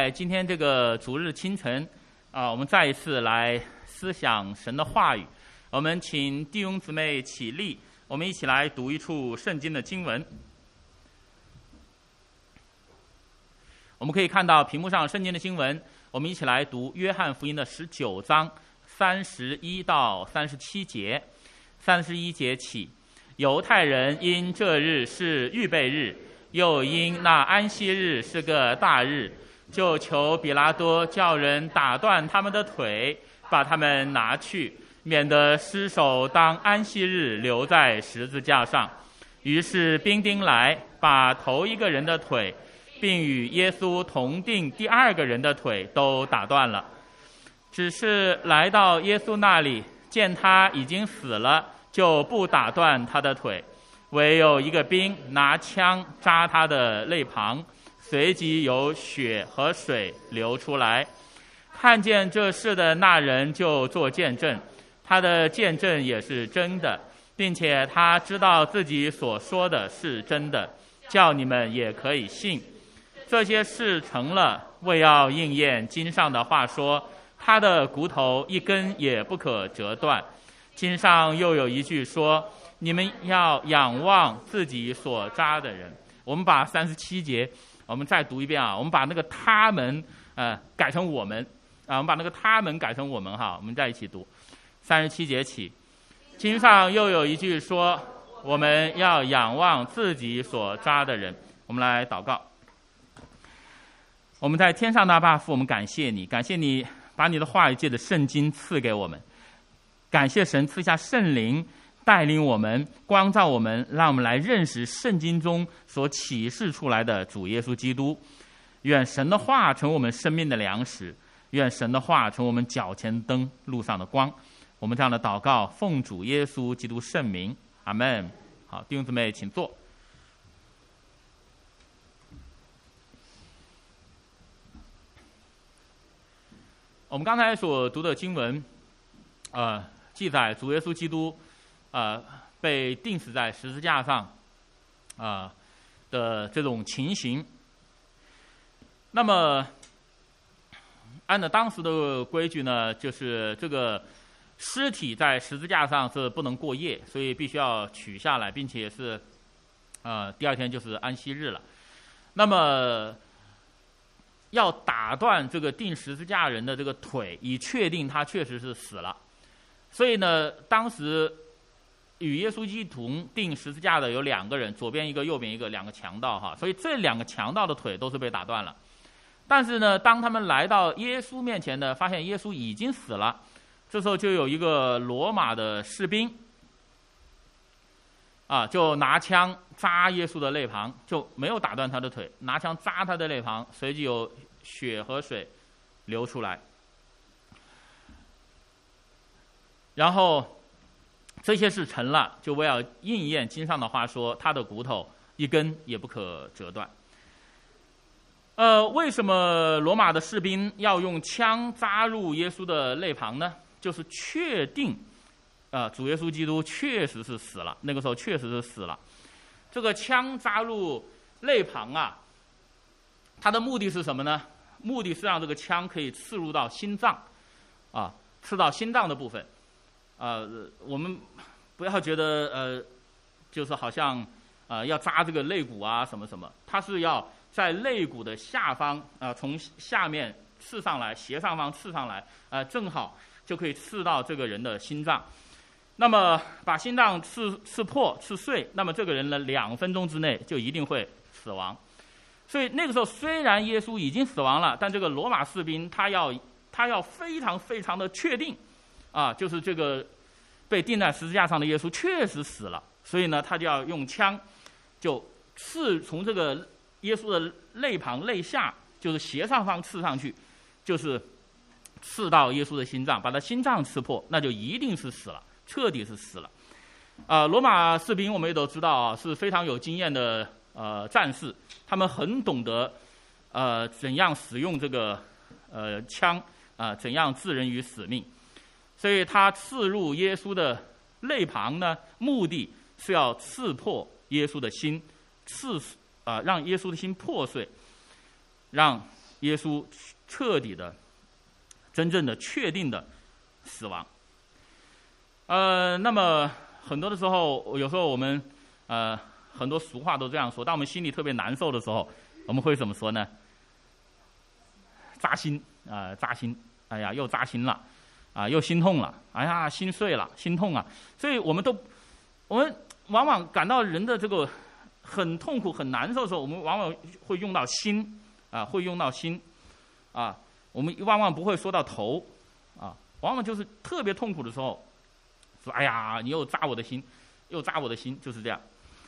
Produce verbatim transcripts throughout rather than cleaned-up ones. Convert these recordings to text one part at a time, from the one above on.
在今天这个主日清晨啊，我们再一次来思想神的话语。我们请弟兄姊妹起立，我们一起来读一处圣经的经文。我们可以看到屏幕上圣经的经文，我们一起来读约翰福音的十九章三十一到三十七节。三十一节起，犹太人因这日是预备日，又因那安息日是个大日，就求比拉多叫人打断他们的腿，把他们拿去，免得尸首当安息日留在十字架上。于是兵丁来，把头一个人的腿，并与耶稣同定第二个人的腿都打断了。只是来到耶稣那里，见他已经死了，就不打断他的腿，唯有一个兵拿枪扎他的肋旁，随即有血和水流出来。看见这事的那人就做见证，他的见证也是真的，并且他知道自己所说的是真的，叫你们也可以信。这些事成了，为要应验经上的话说，他的骨头一根也不可折断。经上又有一句说，你们要仰望自己所扎的人。我们把三十七节我们再读一遍啊，我们把那个他们呃改成我们啊，我们把那个他们改成我们哈，我们再一起读。三十七节起，经上又有一句说，我们要仰望自己所扎的人。我们来祷告。我们在天上的阿爸父，我们感谢你，感谢你把你的话语借着圣经赐给我们，感谢神赐下圣灵带领我们，光照我们，让我们来认识圣经中所启示出来的主耶稣基督。愿神的话成为我们生命的粮食，愿神的话成为我们脚前灯，路上的光。我们这样的祷告奉主耶稣基督圣名，阿们。好，弟兄姊妹请坐。我们刚才所读的经文呃，记载主耶稣基督呃被钉死在十字架上啊、呃、的这种情形。那么按照当时的规矩呢，就是这个尸体在十字架上是不能过夜，所以必须要取下来，并且是呃第二天就是安息日了。那么要打断这个钉十字架人的这个腿，以确定他确实是死了。所以呢，当时与耶稣基督钉十字架的有两个人，左边一个，右边一个，两个强盗哈。所以这两个强盗的腿都是被打断了。但是呢，当他们来到耶稣面前呢，发现耶稣已经死了。这时候就有一个罗马的士兵啊，就拿枪扎耶稣的肋旁，就没有打断他的腿，拿枪扎他的肋旁，随即有血和水流出来。然后这些事成了，就为了应验经上的话说，他的骨头一根也不可折断。呃，为什么罗马的士兵要用枪扎入耶稣的肋旁呢？就是确定呃，主耶稣基督确实是死了，那个时候确实是死了。这个枪扎入肋旁啊，它的目的是什么呢？目的是让这个枪可以刺入到心脏啊，刺到心脏的部分。呃，我们不要觉得呃，就是好像呃要扎这个肋骨啊什么什么，它是要在肋骨的下方啊、呃，从下面刺上来，斜上方刺上来，啊、呃，正好就可以刺到这个人的心脏。那么把心脏刺刺破、刺碎，那么这个人呢，两分钟之内就一定会死亡。所以那个时候虽然耶稣已经死亡了，但这个罗马士兵他要他要非常非常的确定。啊，就是这个被钉在十字架上的耶稣确实死了，所以呢，他就要用枪，就刺从这个耶稣的肋旁、肋下，就是斜上方刺上去，就是刺到耶稣的心脏，把他心脏刺破，那就一定是死了，彻底是死了。啊、呃，罗马士兵我们也都知道啊，是非常有经验的呃战士，他们很懂得呃怎样使用这个呃枪啊、呃，怎样置人于死命。所以他刺入耶稣的肋旁呢，目的是要刺破耶稣的心，刺啊、呃，让耶稣的心破碎，让耶稣彻底的、真正的、确定的死亡。呃，那么很多的时候，有时候我们呃很多俗话都这样说，当我们心里特别难受的时候，我们会怎么说呢？扎心啊、呃，扎心！哎呀，又扎心了，啊，又心痛了，哎呀，心碎了，心痛啊！所以我们都，我们往往感到人的这个很痛苦、很难受的时候，我们往往会用到心啊，会用到心啊，我们往往不会说到头啊，往往就是特别痛苦的时候，说哎呀，你又扎我的心，又扎我的心，就是这样。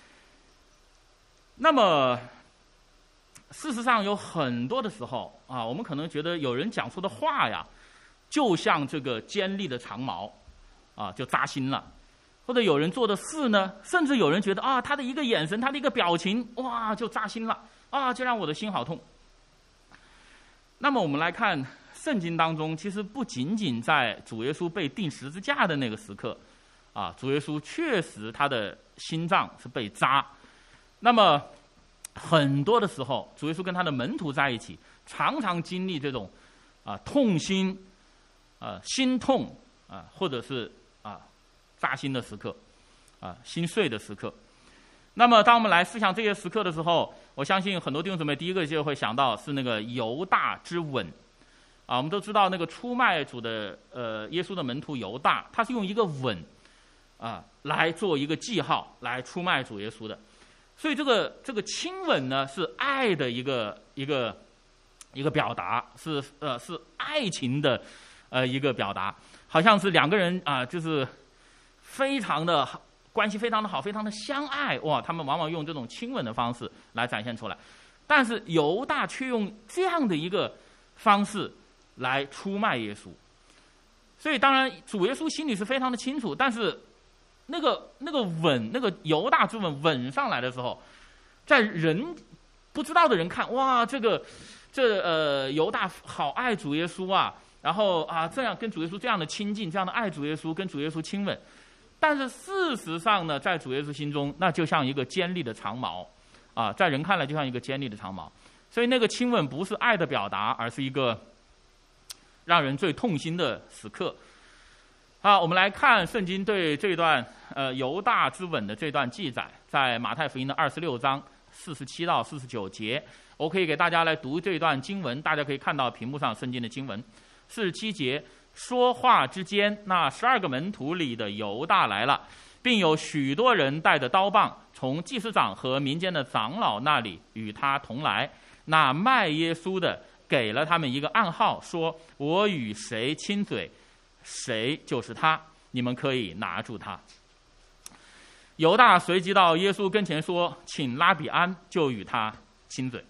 那么。事实上，有很多的时候啊，我们可能觉得有人讲出的话呀，就像这个尖利的长矛，啊，就扎心了；或者有人做的事呢，甚至有人觉得啊，他的一个眼神，他的一个表情，哇，就扎心了，啊，就让我的心好痛。那么我们来看圣经当中，其实不仅仅在主耶稣被钉十字架的那个时刻，啊，主耶稣确实他的心脏是被扎，那么。很多的时候，主耶稣跟他的门徒在一起，常常经历这种啊痛心、啊心痛啊，或者是啊扎心的时刻，啊心碎的时刻。那么，当我们来思想这些时刻的时候，我相信很多弟兄姊妹第一个就会想到是那个犹大之吻。啊，我们都知道那个出卖主的呃耶稣的门徒犹大，他是用一个吻啊来做一个记号，来出卖主耶稣的。所以这个这个亲吻呢，是爱的一个一个一个表达，是呃是爱情的呃一个表达，好像是两个人啊、呃，就是非常的关系非常的好，非常的相爱哇，他们往往用这种亲吻的方式来展现出来，但是犹大却用这样的一个方式来出卖耶稣。所以当然主耶稣心里是非常的清楚，但是。那个那个吻，那个犹大之吻吻上来的时候，在人不知道的人看，哇，这个这呃犹大好爱主耶稣啊，然后啊这样跟主耶稣这样的亲近，这样的爱主耶稣，跟主耶稣亲吻。但是事实上呢，在主耶稣心中，那就像一个尖利的长矛啊，在人看来就像一个尖利的长矛。所以那个亲吻不是爱的表达，而是一个让人最痛心的时刻。好，我们来看圣经对这段呃犹大之吻的这段记载，在马太福音的二十六章四十七到四十九节，我可以给大家来读这段经文，大家可以看到屏幕上圣经的经文。四十七节，说话之间，那十二个门徒里的犹大来了，并有许多人带着刀棒，从祭司长和民间的长老那里与他同来。那卖耶稣的给了他们一个暗号，说：“我与谁亲嘴，谁就是他，你们可以拿住他。”犹大随即到耶稣跟前说：“请拉比安，就与他亲嘴。”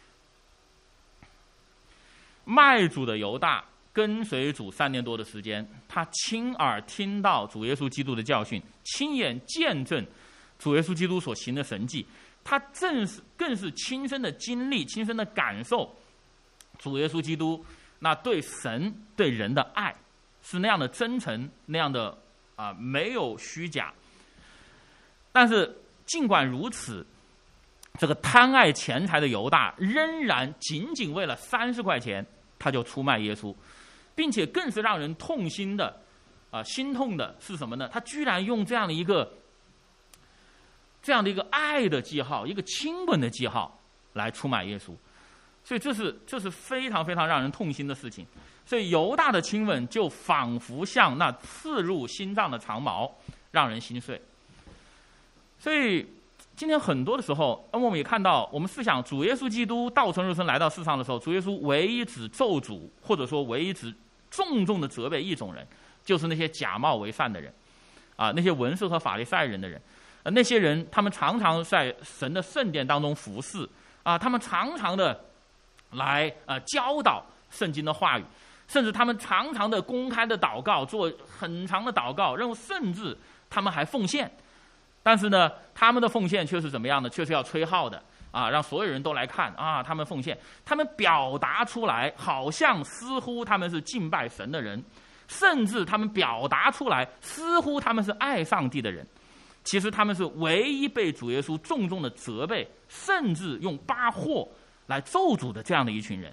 卖主的犹大跟随主三年多的时间，他亲耳听到主耶稣基督的教训，亲眼见证主耶稣基督所行的神迹，他正是更是亲身的经历、亲身的感受主耶稣基督那对神对人的爱是那样的真诚，那样的啊、呃、没有虚假。但是尽管如此，这个贪爱钱财的犹大仍然仅仅为了三十块钱，他就出卖耶稣，并且更是让人痛心的啊、呃、心痛的是什么呢？他居然用这样的一个这样的一个爱的记号，一个亲吻的记号来出卖耶稣。所以这是这是非常非常让人痛心的事情。所以犹大的亲吻就仿佛像那刺入心脏的长矛，让人心碎。所以今天很多的时候，我们也看到，我们思想主耶稣基督道成肉身来到世上的时候，主耶稣唯一只咒诅，或者说唯一只重重的责备一种人，就是那些假冒为善的人啊，那些文士和法利赛人的人。呃，那些人他们常常在神的圣殿当中服侍啊，他们常常的来呃教导圣经的话语，甚至他们常常的公开的祷告，做很长的祷告，然后甚至他们还奉献。但是呢，他们的奉献却是怎么样呢？却是要吹号的啊，让所有人都来看啊，他们奉献，他们表达出来，好像似乎他们是敬拜神的人，甚至他们表达出来，似乎他们是爱上帝的人。其实他们是唯一被主耶稣重重的责备，甚至用扒祸来咒诅的这样的一群人。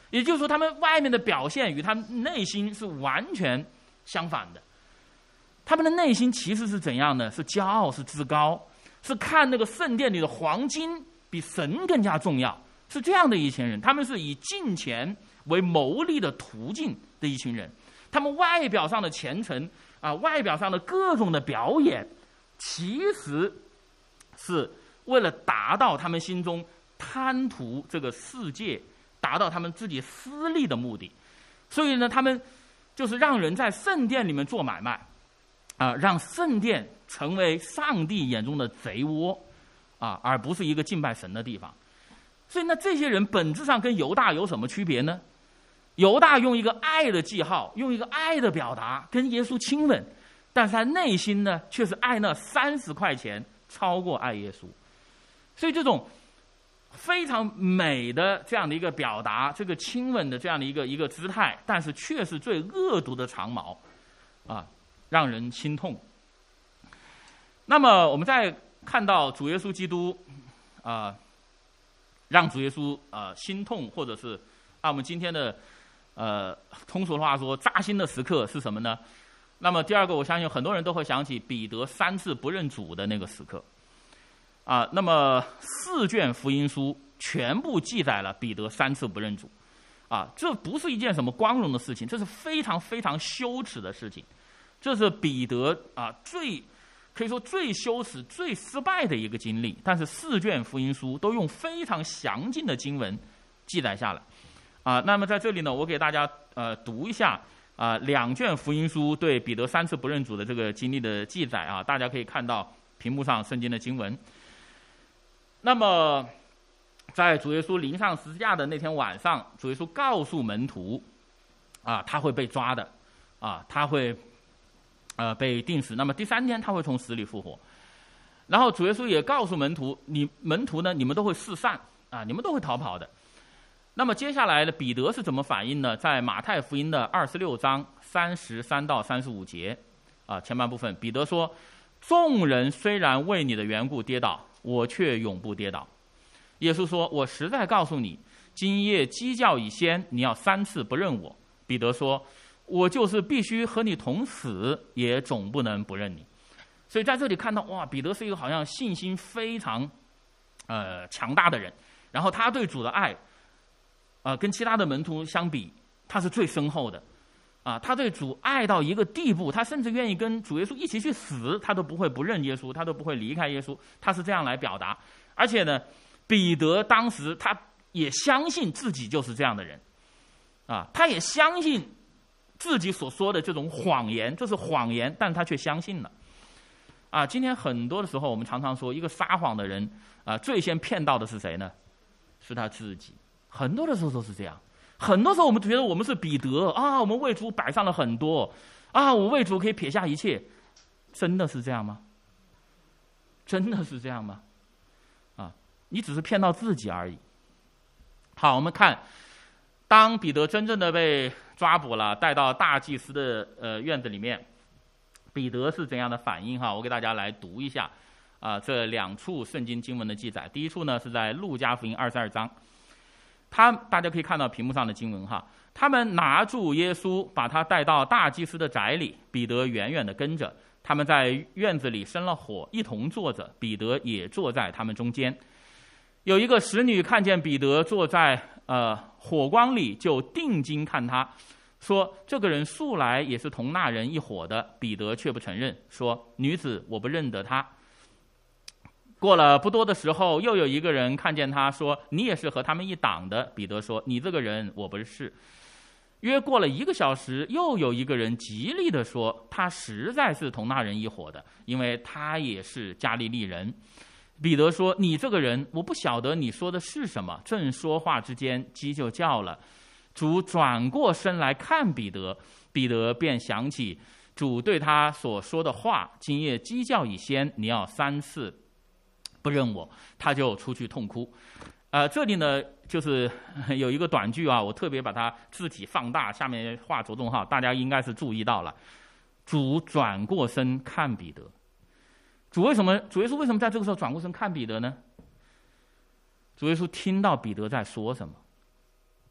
也就是说，他们外面的表现与他们内心是完全相反的。他们的内心其实是怎样呢？是骄傲，是自高，是看那个圣殿里的黄金比神更加重要，是这样的一群人。他们是以金钱为牟利的途径的一群人。他们外表上的虔诚啊，外表上的各种的表演，其实是为了达到他们心中贪图这个世界，达到他们自己私利的目的。所以呢，他们就是让人在圣殿里面做买卖啊，让圣殿成为上帝眼中的贼窝啊，而不是一个敬拜神的地方。所以呢，这些人本质上跟犹大有什么区别呢？犹大用一个爱的记号，用一个爱的表达跟耶稣亲吻，但是他内心呢却是爱那三十块钱超过爱耶稣。所以这种非常美的这样的一个表达，这个亲吻的这样的一个一个姿态，但是却是最恶毒的长矛啊，让人心痛。那么我们再看到主耶稣基督啊、呃，让主耶稣啊、呃、心痛，或者是按我们今天的呃通俗的话说，扎心的时刻是什么呢？那么第二个，我相信很多人都会想起彼得三次不认主的那个时刻啊。那么四卷福音书全部记载了彼得三次不认主啊，这不是一件什么光荣的事情，这是非常非常羞耻的事情。这是彼得啊最可以说最羞耻、最失败的一个经历。但是四卷福音书都用非常详尽的经文记载下来啊。那么在这里呢，我给大家呃读一下啊两卷福音书对彼得三次不认主的这个经历的记载啊，大家可以看到屏幕上圣经的经文。那么在主耶稣临上十字架的那天晚上，主耶稣告诉门徒啊，他会被抓的啊，他会呃被钉死，那么第三天他会从死里复活。然后主耶稣也告诉门徒，你门徒呢，你们都会四散啊，你们都会逃跑的。那么接下来的彼得是怎么反应呢？在马太福音的二十六章三十三到三十五节啊，前半部分，彼得说：众人虽然为你的缘故跌倒，我却永不跌倒。耶稣说：我实在告诉你，今夜鸡叫以先，你要三次不认我。彼得说：我就是必须和你同死，也总不能不认你。所以在这里看到，哇，彼得是一个好像信心非常呃强大的人，然后他对主的爱呃跟其他的门徒相比，他是最深厚的啊，他对主爱到一个地步，他甚至愿意跟主耶稣一起去死，他都不会不认耶稣，他都不会离开耶稣，他是这样来表达。而且呢，彼得当时他也相信自己就是这样的人啊，他也相信自己所说的这种谎言，这是谎言，但他却相信了啊。今天很多的时候，我们常常说，一个撒谎的人啊，最先骗到的是谁呢？是他自己。很多的时候都是这样。很多时候我们觉得我们是彼得啊，我们为主摆上了很多啊，我为主可以撇下一切，真的是这样吗？真的是这样吗？啊，你只是骗到自己而已。好，我们看，当彼得真正的被抓捕了，带到大祭司的呃院子里面，彼得是怎样的反应哈？我给大家来读一下啊，这两处圣经经文的记载。第一处呢是在路加福音二十二章。他大家可以看到屏幕上的经文哈，他们拿住耶稣，把他带到大祭司的宅里，彼得远远地跟着。他们在院子里生了火，一同坐着，彼得也坐在他们中间。有一个使女看见彼得坐在呃火光里，就定睛看他，说：这个人素来也是同那人一伙的。彼得却不承认，说：女子，我不认得他。过了不多的时候，又有一个人看见他，说：你也是和他们一党的。彼得说：你这个人我不是。约过了一个小时，又有一个人极力地说：他实在是同那人一伙的，因为他也是加利利人。彼得说：你这个人，我不晓得你说的是什么。正说话之间，鸡就叫了。主转过身来看彼得，彼得便想起主对他所说的话：今夜鸡叫以先，你要三次不认我。他就出去痛哭。呃，这里呢就是有一个短句啊，我特别把它字体放大，下面画着重号，大家应该是注意到了。主转过身看彼得。主为什么主耶稣为什么在这个时候转过身看彼得呢？主耶稣听到彼得在说什么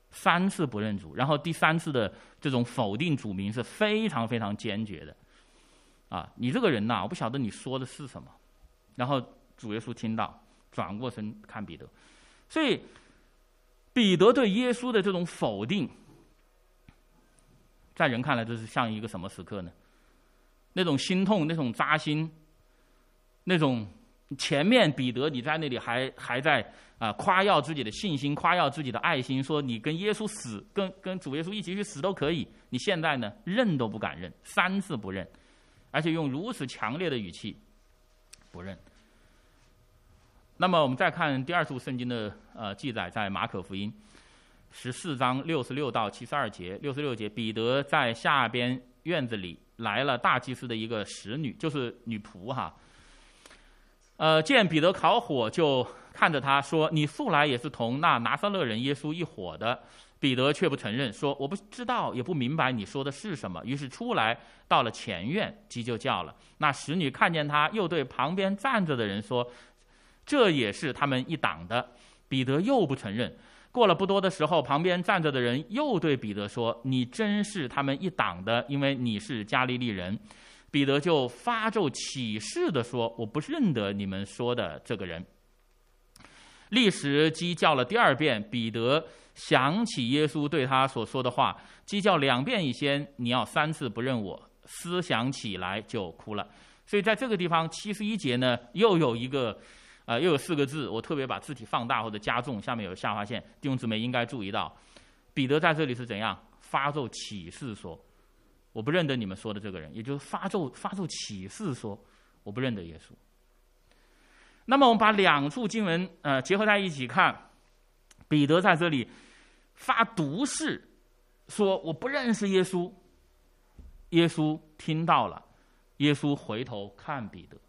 三次不认主，然后第三次的这种否定主名是非常非常坚决的。啊，你这个人呐，我不晓得你说的是什么。然后主耶稣听到，转过身看彼得。所以彼得对耶稣的这种否定，在人看来这是像一个什么时刻呢？那种心痛，那种扎心，那种前面彼得你在那里还还在啊、呃、夸耀自己的信心，夸耀自己的爱心，说你跟耶稣死，跟跟主耶稣一起去死都可以。你现在呢，认都不敢认，三次不认，而且用如此强烈的语气不认。那么我们再看第二处圣经的呃记载，在马可福音十四章六十六到七十二节，六十六节，彼得在下边院子里来了大祭司的一个使女，就是女仆哈。呃，见彼得烤火，就看着他说：“你素来也是同那拿撒勒人耶稣一伙的。”彼得却不承认，说：“我不知道，也不明白你说的是什么。”于是出来，到了前院，鸡就叫了。那使女看见他，又对旁边站着的人说：“这也是他们一党的。”彼得又不承认。过了不多的时候，旁边站着的人又对彼得说：“你真是他们一党的，因为你是加利利人。”彼得就发咒起誓地说：“我不认得你们说的这个人。”立时鸡叫了第二遍，彼得想起耶稣对他所说的话：“鸡叫两遍以先，你要三次不认我。”思想起来就哭了。所以在这个地方七十一节呢，又有一个呃，又有四个字，我特别把字体放大或者加重，下面有下划线，弟兄姊妹应该注意到，彼得在这里是怎样发咒起誓说：“我不认得你们说的这个人。”也就是发咒发咒起誓说：“我不认得耶稣。”那么我们把两处经文呃结合在一起看，彼得在这里发毒誓说：“我不认识耶稣。”耶稣听到了，耶稣回头看彼得。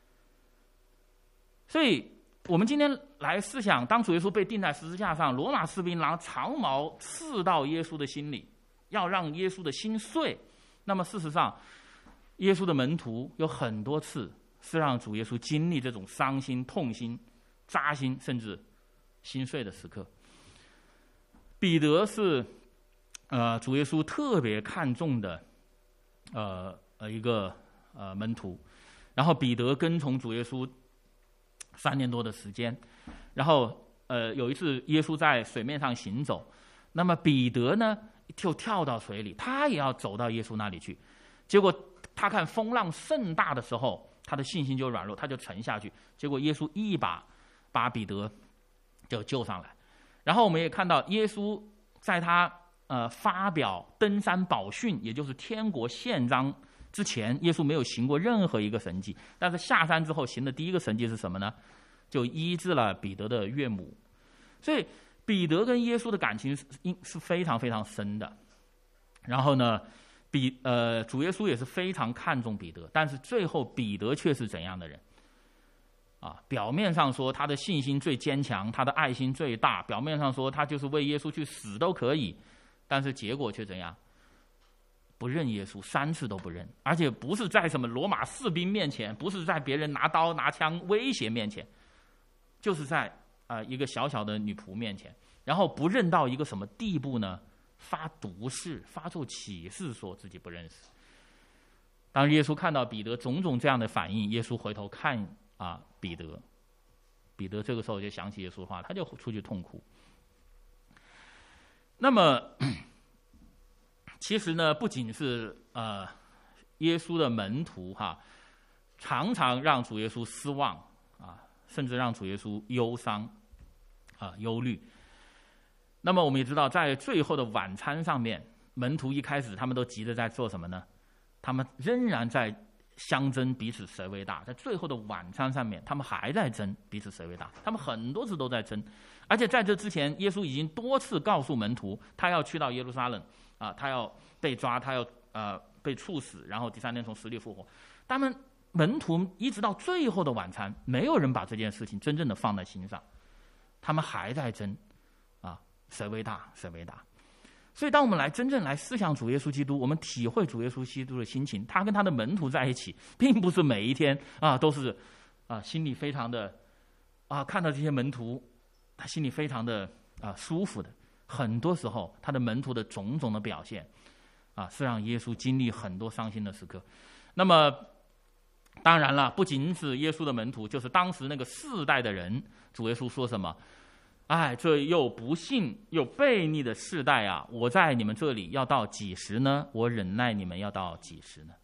所以我们今天来思想，当主耶稣被钉在十字架上，罗马士兵拿长矛刺到耶稣的心里，要让耶稣的心碎。那么事实上，耶稣的门徒有很多次是让主耶稣经历这种伤心、痛心、扎心，甚至心碎的时刻。彼得是呃主耶稣特别看重的呃呃一个呃门徒，然后彼得跟从主耶稣三年多的时间，然后呃有一次耶稣在水面上行走，那么彼得呢就跳到水里，他也要走到耶稣那里去。结果他看风浪甚大的时候，他的信心就软弱，他就沉下去。结果耶稣一把把彼得就救上来。然后我们也看到耶稣在他呃发表登山宝训，也就是天国宪章之前，耶稣没有行过任何一个神迹。但是下山之后行的第一个神迹是什么呢？就医治了彼得的岳母。所以彼得跟耶稣的感情是是非常非常深的。然后呢，彼呃主耶稣也是非常看重彼得，但是最后彼得却是怎样的人？啊，表面上说他的信心最坚强，他的爱心最大，表面上说他就是为耶稣去死都可以，但是结果却怎样？不认耶稣，三次都不认，而且不是在什么罗马士兵面前，不是在别人拿刀拿枪威胁面前，就是在啊、呃、一个小小的女仆面前，然后不认到一个什么地步呢？发毒誓，发咒起誓，说自己不认识。当耶稣看到彼得种种这样的反应，耶稣回头看啊彼得，彼得这个时候就想起耶稣的话，他就出去痛哭。那么其实呢，不仅是呃耶稣的门徒哈，常常让主耶稣失望啊，甚至让主耶稣忧伤啊忧虑。那么我们也知道，在最后的晚餐上面，门徒一开始他们都急着在做什么呢？他们仍然在相争彼此谁为大。在最后的晚餐上面，他们还在争彼此谁为大，他们很多次都在争。而且在这之前，耶稣已经多次告诉门徒，他要去到耶路撒冷啊，他要被抓，他要呃被处死，然后第三天从死里复活。他们门徒一直到最后的晚餐，没有人把这件事情真正的放在心上，他们还在争啊，谁为大，谁为大。所以当我们来真正来思想主耶稣基督，我们体会主耶稣基督的心情，他跟他的门徒在一起，并不是每一天啊都是啊心里非常的啊看到这些门徒，他心里非常的啊舒服的很多时候他的门徒的种种的表现啊，是让耶稣经历很多伤心的时刻。那么当然了，不仅是耶稣的门徒，就是当时那个世代的人，主耶稣说什么？哎，这又不信又悖逆的世代啊，我在你们这里要到几时呢？我忍耐你们要到几时呢？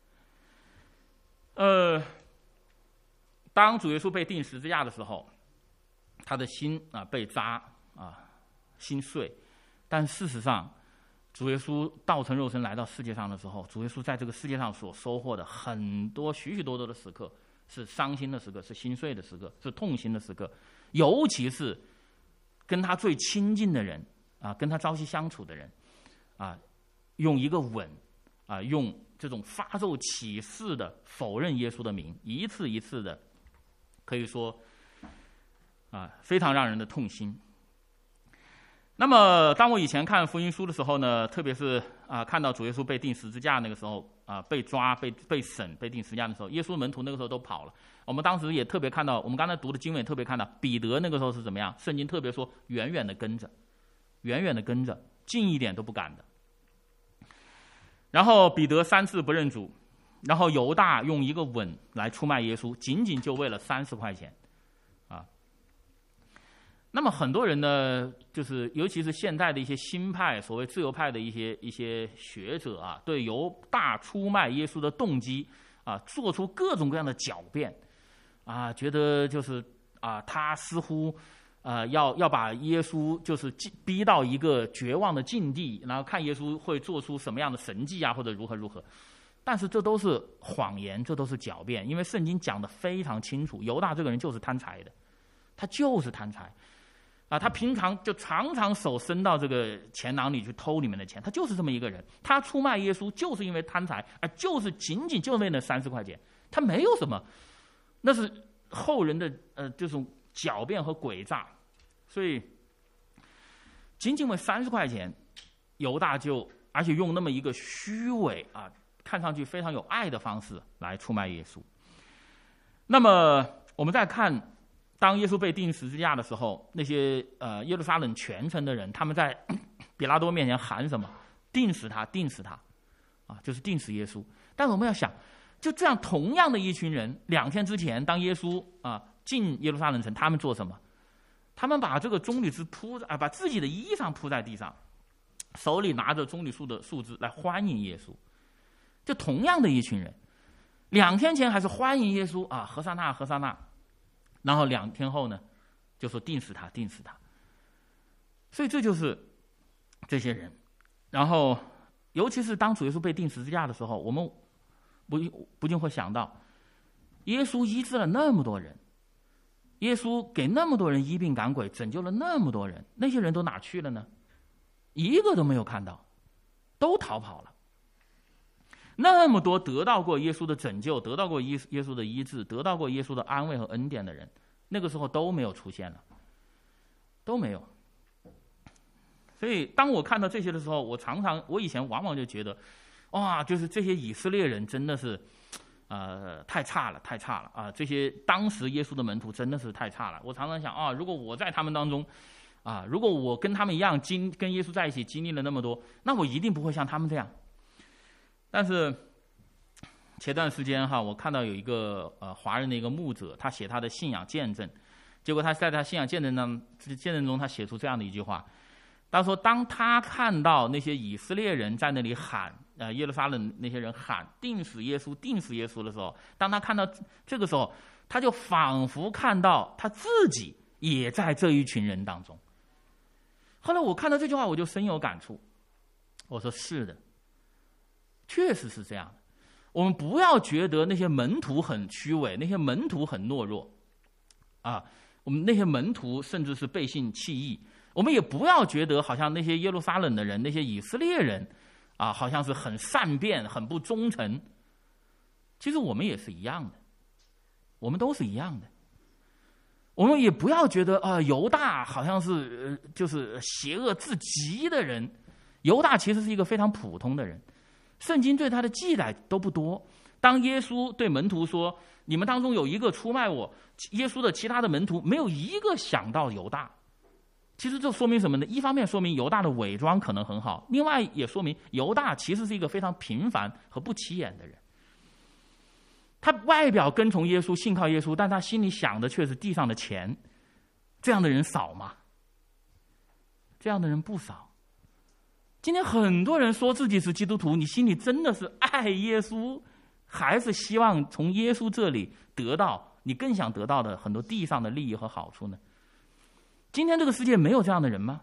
呃，当主耶稣被钉十字架的时候，他的心啊被扎啊，心碎。但事实上，主耶稣道成肉身来到世界上的时候，主耶稣在这个世界上所收获的很多许许多多的时刻，是伤心的时刻，是心碎的时刻，是痛心的时刻，尤其是跟他最亲近的人啊，跟他朝夕相处的人啊，用一个吻啊，用这种发咒起誓的否认耶稣的名，一次一次的，可以说啊，非常让人的痛心。那么，当我以前看福音书的时候呢，特别是啊，看到主耶稣被钉十字架那个时候啊，被抓、被被审、被钉十字架的时候，耶稣门徒那个时候都跑了。我们当时也特别看到，我们刚才读的经文也特别看到，彼得那个时候是怎么样？圣经特别说，远远的跟着，远远的跟着，近一点都不敢的。然后彼得三次不认主，然后犹大用一个吻来出卖耶稣，仅仅就为了三十块钱。那么很多人呢，就是尤其是现在的一些新派、所谓自由派的一些一些学者啊，对犹大出卖耶稣的动机啊，做出各种各样的狡辩啊，觉得就是啊，他似乎啊要要把耶稣就是逼到一个绝望的境地，然后看耶稣会做出什么样的神迹啊，或者如何如何。但是这都是谎言，这都是狡辩，因为圣经讲得非常清楚，犹大这个人就是贪财的，他就是贪财。啊，他平常就常常手伸到这个钱囊里去偷你们的钱，他就是这么一个人。他出卖耶稣就是因为贪财，而就是仅仅就为那三十块钱，他没有什么，那是后人的呃这种狡辩和诡诈。所以仅仅为三十块钱，犹大就而且用那么一个虚伪啊，看上去非常有爱的方式来出卖耶稣。那么我们再看。当耶稣被钉十字架的时候，那些呃耶路撒冷全城的人，他们在比拉多面前喊什么？钉死他，钉死他，啊，就是钉死耶稣。但是我们要想，就这样同样的一群人，两天之前，当耶稣啊进耶路撒冷城，他们做什么？他们把这个棕榈枝铺啊，把自己的衣裳铺在地上，手里拿着棕榈树的树枝来欢迎耶稣。就同样的一群人，两天前还是欢迎耶稣啊，和撒那，和撒那。然后两天后呢，就说钉死他，钉死他。所以这就是这些人。然后，尤其是当主耶稣被钉十字架的时候，我们不不禁会想到，耶稣医治了那么多人，耶稣给那么多人医病赶鬼，拯救了那么多人，那些人都哪去了呢？一个都没有看到，都逃跑了。那么多得到过耶稣的拯救，得到过耶耶稣的医治，得到过耶稣的安慰和恩典的人，那个时候都没有出现了，都没有。所以当我看到这些的时候，我常常，我以前往往就觉得，哇，就是这些以色列人真的是，呃，太差了，太差了啊！这些当时耶稣的门徒真的是太差了。我常常想啊，如果我在他们当中，啊，如果我跟他们一样经跟耶稣在一起经历了那么多，那我一定不会像他们这样。但是前段时间哈，我看到有一个呃华人的一个牧者，他写他的信仰见证，结果他在他信仰见证中，见证中他写出这样的一句话，他说，当他看到那些以色列人在那里喊，呃耶路撒冷那些人喊钉死耶稣，钉死耶稣的时候，当他看到这个时候，他就仿佛看到他自己也在这一群人当中。后来我看到这句话，我就深有感触，我说是的。确实是这样的，我们不要觉得那些门徒很虚伪，那些门徒很懦弱，啊，我们那些门徒甚至是背信弃义。我们也不要觉得好像那些耶路撒冷的人，那些以色列人，啊，好像是很善变、很不忠诚。其实我们也是一样的，我们都是一样的。我们也不要觉得啊、呃，犹大好像是、呃、就是邪恶至极的人。犹大其实是一个非常普通的人。圣经对他的记载都不多。当耶稣对门徒说：“你们当中有一个出卖我”，耶稣的其他的门徒没有一个想到犹大， 其实这说明什么呢？一方面说明犹大的伪装可能很好，另外也说明犹大其实是一个非常平凡和不起眼的人。他外表跟从耶稣，信靠耶稣，但他心里想的却是地上的钱。这样的人少吗？这样的人不少。今天很多人说自己是基督徒，你心里真的是爱耶稣，还是希望从耶稣这里得到你更想得到的很多地上的利益和好处呢？今天这个世界没有这样的人吗？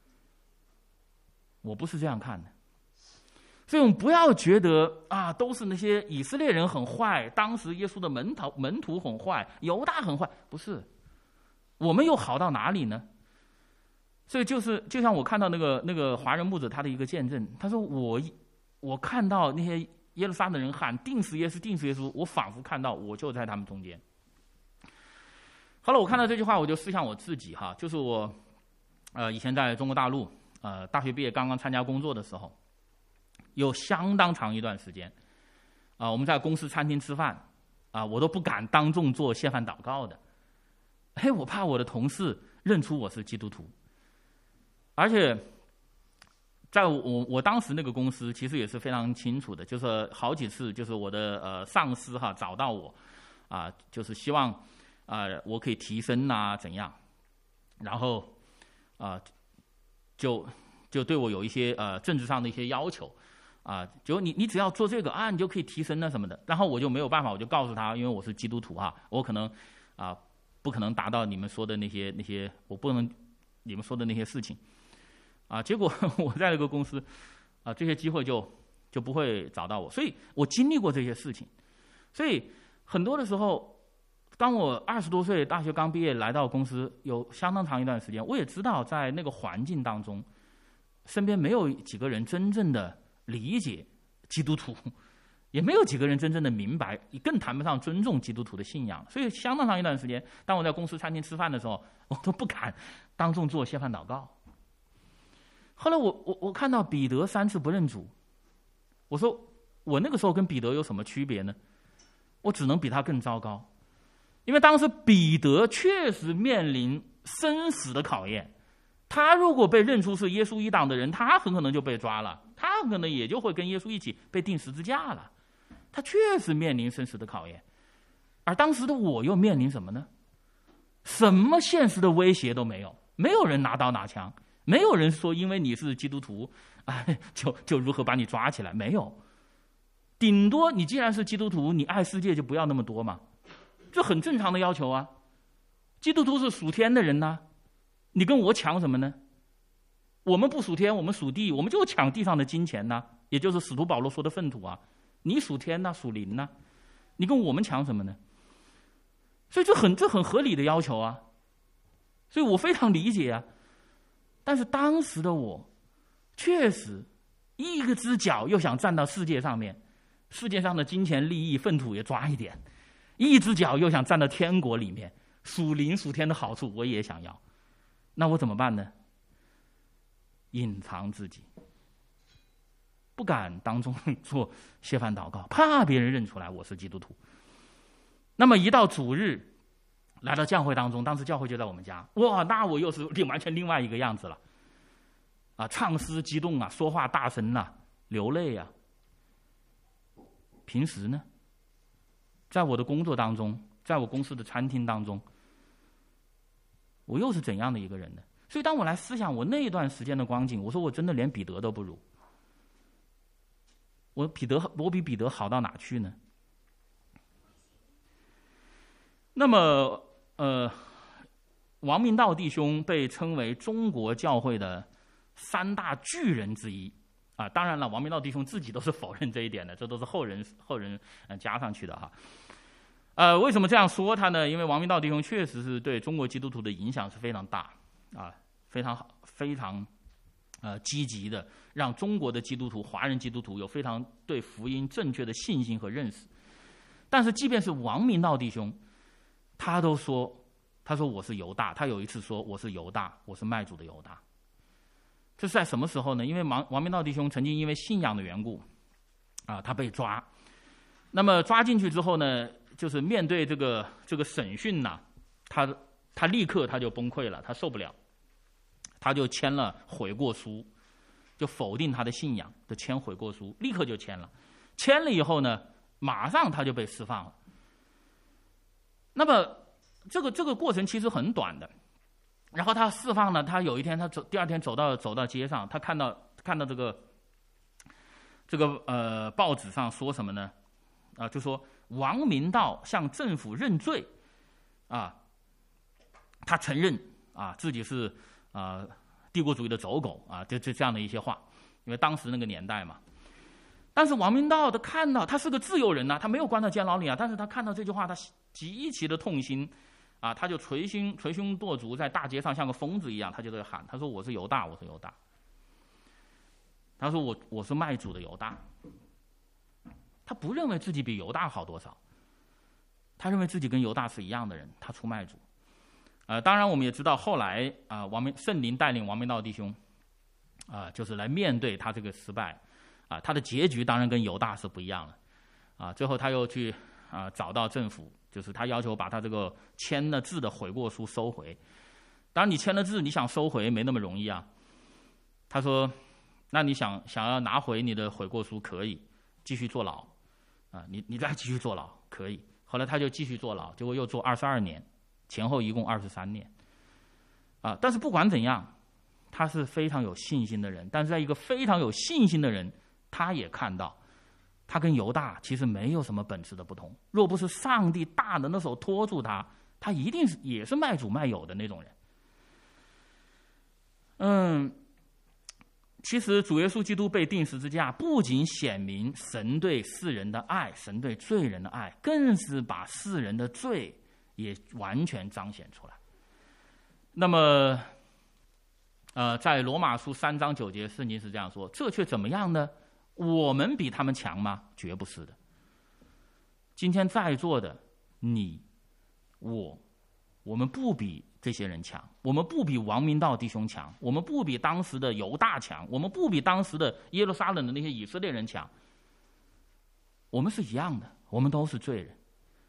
我不是这样看的。所以我们不要觉得啊，都是那些以色列人很坏，当时耶稣的门徒门徒很坏，犹大很坏，不是。我们又好到哪里呢？所以就是就像我看到那个那个华人牧者他的一个见证，他说我我看到那些耶路撒冷人喊定死耶稣定死耶稣，我仿佛看到我就在他们中间。后来我看到这句话，我就思想我自己哈，就是我呃以前在中国大陆呃大学毕业刚刚参加工作的时候，有相当长一段时间啊、呃、我们在公司餐厅吃饭啊、呃、我都不敢当众做谢饭祷告的，嘿，我怕我的同事认出我是基督徒。而且在我我当时那个公司其实也是非常清楚的，就是好几次就是我的呃上司哈找到我啊、呃、就是希望啊、呃，我可以提升啊，怎样？然后啊、呃，就就对我有一些呃政治上的一些要求啊、呃，就你你只要做这个啊，你就可以提升啊什么的。然后我就没有办法，我就告诉他，因为我是基督徒哈，我可能啊、呃、不可能达到你们说的那些那些，我不能你们说的那些事情啊。结果我在那个公司啊、呃，这些机会就就不会找到我，所以我经历过这些事情，所以很多的时候。当我二十多岁，大学刚毕业来到公司，有相当长一段时间，我也知道在那个环境当中，身边没有几个人真正的理解基督徒，也没有几个人真正的明白，更谈不上尊重基督徒的信仰。所以相当长一段时间，当我在公司餐厅吃饭的时候，我都不敢当众做谢饭祷告。后来我我我看到彼得三次不认主，我说我那个时候跟彼得有什么区别呢？我只能比他更糟糕。因为当时彼得确实面临生死的考验，他如果被认出是耶稣一党的人，他很可能就被抓了，他很可能也就会跟耶稣一起被钉十字架了。他确实面临生死的考验，而当时的我又面临什么呢？什么现实的威胁都没有，没有人拿刀拿枪，没有人说因为你是基督徒，哎，就就如何把你抓起来，没有。顶多你既然是基督徒，你爱世界就不要那么多嘛。这很正常的要求啊！基督徒是属天的人呐、啊，你跟我抢什么呢？我们不属天，我们属地，我们就抢地上的金钱呐、啊，也就是使徒保罗说的粪土啊。你属天呐、啊，属灵呐、啊，你跟我们抢什么呢？所以这很这很合理的要求啊，所以我非常理解啊。但是当时的我，确实一个只脚又想站到世界上面，世界上的金钱利益粪土也抓一点。一只脚又想站到天国里面，属灵属天的好处我也想要，那我怎么办呢？隐藏自己，不敢当众做谢饭祷告，怕别人认出来我是基督徒。那么一到主日，来到教会当中，当时教会就在我们家，哇，那我又是另完全另外一个样子了，啊，唱诗激动啊，说话大声啊，流泪啊。平时呢？在我的工作当中，在我公司的餐厅当中，我又是怎样的一个人呢？所以当我来思想我那一段时间的光景，我说我真的连彼得都不如。我彼得，我比彼得好到哪去呢？那么，呃，王明道弟兄被称为中国教会的三大巨人之一。啊，当然了，王明道弟兄自己都是否认这一点的，这都是后人后人呃加上去的哈。呃，为什么这样说他呢？因为王明道弟兄确实是对中国基督徒的影响是非常大啊，非常好，非常呃积极的，让中国的基督徒、华人基督徒有非常对福音正确的信心和认识。但是，即便是王明道弟兄，他都说，他说我是犹大，他有一次说我是犹大，我是卖主的犹大。这是在什么时候呢？因为王王明道弟兄曾经因为信仰的缘故，啊，他被抓。那么抓进去之后呢，就是面对这个这个审讯呐、啊，他他立刻他就崩溃了，他受不了。 他就签了悔过书，就否定他的信仰，就签悔过书，立刻就签了。签了以后呢，马上他就被释放了。那么这个这个过程其实很短的。然后他释放了，他有一天他走，第二天走到走到街上，他看到看到这个这个呃报纸上说什么呢？啊，就说王明道向政府认罪，啊，他承认啊自己是啊帝国主义的走狗啊，就就这样的一些话，因为当时那个年代嘛。但是王明道他看到，他是个自由人呐、啊，他没有关到监牢里啊，但是他看到这句话，他极其的痛心。啊，他就捶胸捶胸跺足，在大街上像个疯子一样，他就在喊，他说：“我是犹大，我是犹大。”他说我：“我是卖主的犹大。”他不认为自己比犹大好多少，他认为自己跟犹大是一样的人，他出卖主。呃，当然我们也知道，后来啊、呃，王明圣灵带领王明道弟兄啊、呃，就是来面对他这个失败啊、呃，他的结局当然跟犹大是不一样了啊、呃。最后他又去啊、呃、找到政府。就是他要求把他这个签了字的悔过书收回，当然你签了字，你想收回没那么容易啊。他说：“那你想想要拿回你的悔过书，可以继续坐牢啊，你你再继续坐牢可以。”后来他就继续坐牢，结果又坐二十二年，前后一共二十三年啊。但是不管怎样，他是非常有信心的人。但是在一个非常有信心的人，他也看到。他跟犹大其实没有什么本质的不同，若不是上帝大能的手托住他，他一定是也是卖主卖友的那种人。嗯，其实主耶稣基督被钉十字架，不仅显明神对世人的爱，神对罪人的爱，更是把世人的罪也完全彰显出来。那么，呃，在罗马书三章九节，圣经是这样说：“这却怎么样呢？我们比他们强吗？绝不是的。今天在座的你、我，我们不比这些人强，我们不比王明道弟兄强，我们不比当时的犹大强，我们不比当时的耶路撒冷的那些以色列人强。我们是一样的，我们都是罪人。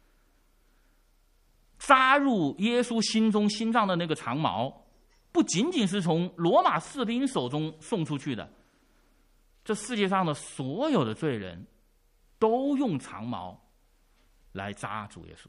扎入耶稣心中心脏的那个长矛，不仅仅是从罗马士兵手中送出去的。这世界上的所有的罪人都用长矛来扎主耶稣。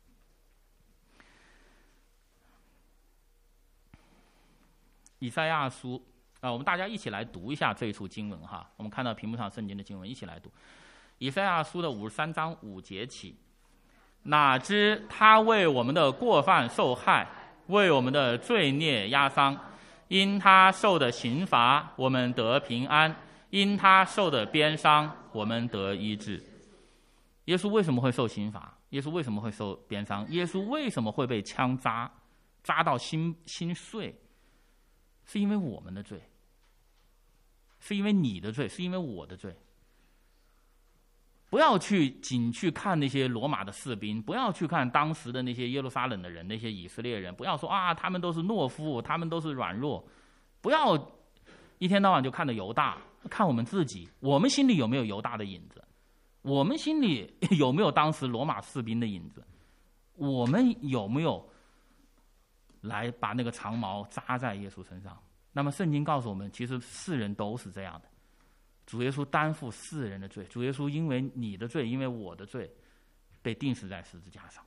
以赛亚书啊、呃，我们大家一起来读一下这一处经文哈。我们看到屏幕上圣经的经文，一起来读。以赛亚书的五十三章五节起，哪知他为我们的过犯受害，为我们的罪孽压伤，因他受的刑罚，我们得平安。因他受的鞭伤，我们得医治。耶稣为什么会受刑罚？耶稣为什么会受鞭伤？耶稣为什么会被枪扎，扎到心心碎？是因为我们的罪，是因为你的罪，是因为我的罪。不要去仅去看那些罗马的士兵，不要去看当时的那些耶路撒冷的人，那些以色列人，不要说啊，他们都是懦夫，他们都是软弱，不要一天到晚就看着犹大。看我们自己，我们心里有没有犹大的影子？我们心里有没有当时罗马士兵的影子？我们有没有来把那个长矛扎在耶稣身上？那么圣经告诉我们，其实世人都是这样的。主耶稣担负世人的罪，主耶稣因为你的罪，因为我的罪，被钉死在十字架上。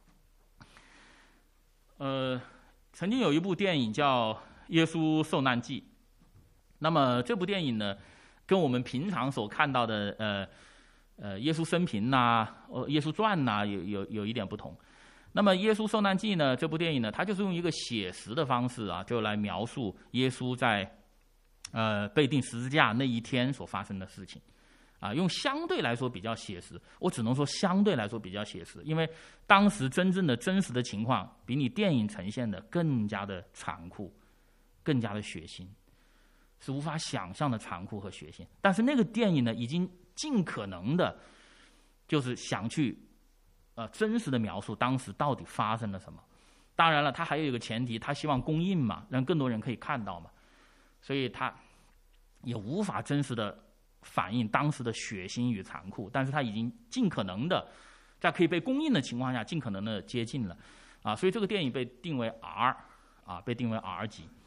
呃，曾经有一部电影叫《耶稣受难记》。那么这部电影呢，跟我们平常所看到的呃呃耶稣生平呐、呃耶稣传呐、有有有一点不同。那么《耶稣受难记》呢，这部电影呢，它就是用一个写实的方式啊，就来描述耶稣在呃被钉十字架那一天所发生的事情，啊，用相对来说比较写实，我只能说相对来说比较写实，因为当时真正的真实的情况比你电影呈现的更加的残酷，更加的血腥。是无法想象的残酷和血腥，但是那个电影呢，已经尽可能的，就是想去，呃，真实的描述当时到底发生了什么。当然了，他还有一个前提，他希望公映嘛，让更多人可以看到嘛，所以他也无法真实的反映当时的血腥与残酷，但是他已经尽可能的，在可以被公映的情况下，尽可能的接近了，啊，所以这个电影被定为 R， 啊，被定为 R 级。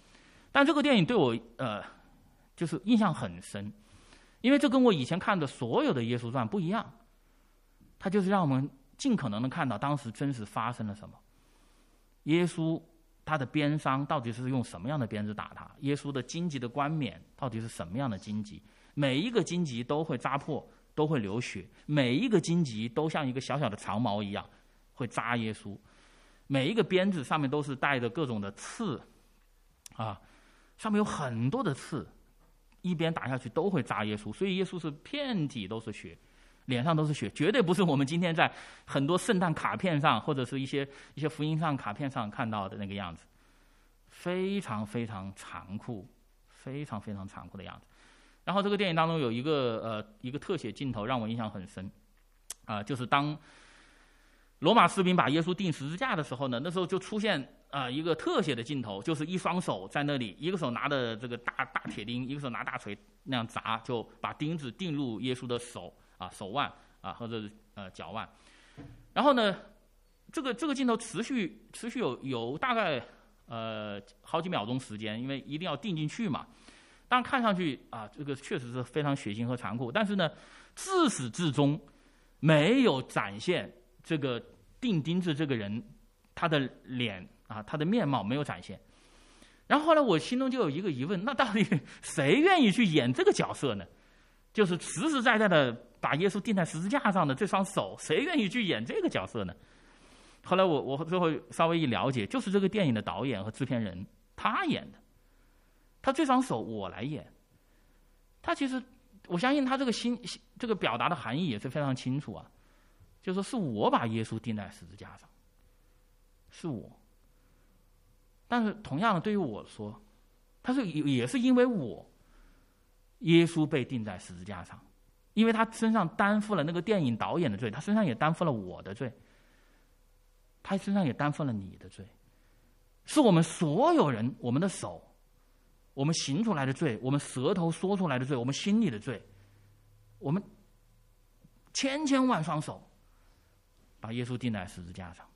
但这个电影对我呃就是印象很深，因为这跟我以前看的所有的耶稣传不一样，它就是让我们尽可能的看到当时真实发生了什么。耶稣他的鞭伤到底是用什么样的鞭子打他？耶稣的荆棘的冠冕到底是什么样的荆棘？每一个荆棘都会扎破，都会流血，每一个荆棘都像一个小小的长矛一样会扎耶稣，每一个鞭子上面都是带着各种的刺啊，上面有很多的刺，一鞭打下去都会扎耶稣，所以耶稣是遍体都是血，脸上都是血，绝对不是我们今天在很多圣诞卡片上或者是一些一些福音上卡片上看到的那个样子，非常非常残酷，非常非常残酷的样子。然后这个电影当中有一个呃一个特写镜头让我印象很深，啊、呃，就是当罗马士兵把耶稣钉十字架的时候呢，那时候就出现啊、呃、一个特写的镜头，就是一双手在那里，一个手拿着这个大大铁钉，一个手拿大锤那样砸，就把钉子钉入耶稣的手啊手腕啊或者呃脚腕。然后呢，这个这个镜头持续持续有有大概呃好几秒钟时间，因为一定要钉进去嘛。当然看上去啊，这个确实是非常血腥和残酷，但是呢，自始至终没有展现这个钉钉子这个人他的脸啊，他的面貌没有展现。然后后来我心中就有一个疑问，那到底谁愿意去演这个角色呢？就是实实在在的把耶稣钉在十字架上的这双手，谁愿意去演这个角色呢？后来我我最后稍微一了解，就是这个电影的导演和制片人他演的。他这双手我来演，他其实我相信他这个心这个表达的含义也是非常清楚啊，就是说是我把耶稣钉在十字架上，是我。但是同样的对于我说，他是也是因为我，耶稣被钉在十字架上，因为他身上担负了那个电影导演的罪，他身上也担负了我的罪，他身上也担负了你的罪，是我们所有人，我们的手。我们行出来的罪，我们舌头说出来的罪，我们心里的罪，我们千千万双手把耶稣钉在十字架上。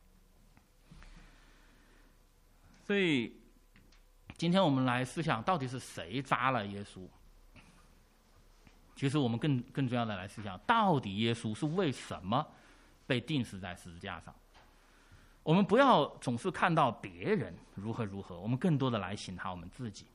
所以今天我们来思想，到底是谁扎了耶稣？其实我们更更重要的来思想，到底耶稣是为什么被钉死在十字架上？我们不要总是看到别人如何如何，我们更多的来省察我们自己。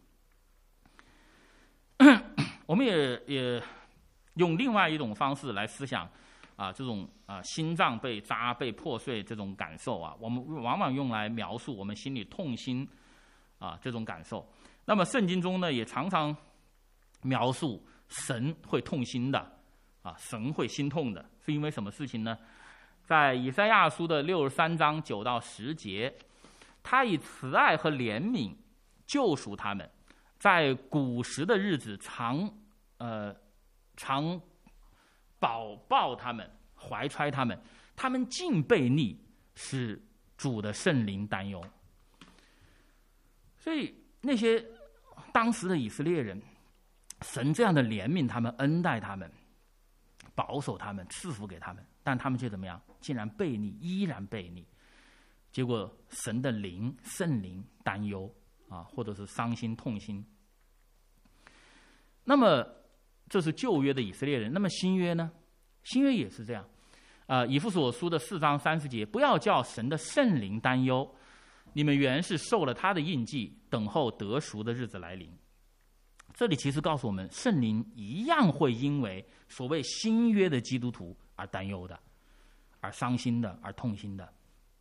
我们也也用另外一种方式来思想啊，这种啊心脏被扎被破碎这种感受啊，我们往往用来描述我们心里痛心啊这种感受。那么圣经中呢，也常常描述神会痛心的啊，神会心痛的，是因为什么事情呢？在以赛亚书的六十三章九到十节，他以慈爱和怜悯救赎他们，在古时的日子常呃常保抱他们，怀揣他们，他们竟悖逆，使主的圣灵担忧。所以那些当时的以色列人，神这样的怜悯他们，恩待他们，保守他们，赐福给他们，但他们却怎么样？竟然悖逆，依然悖逆。结果神的灵、圣灵担忧啊，或者是伤心、痛心。那么这是旧约的以色列人，那么新约呢？新约也是这样。啊、呃，以弗所书的四章三十节，不要叫神的圣灵担忧，你们原是受了他的印记，等候得赎的日子来临。这里其实告诉我们，圣灵一样会因为所谓新约的基督徒而担忧的，而伤心的，而痛心的。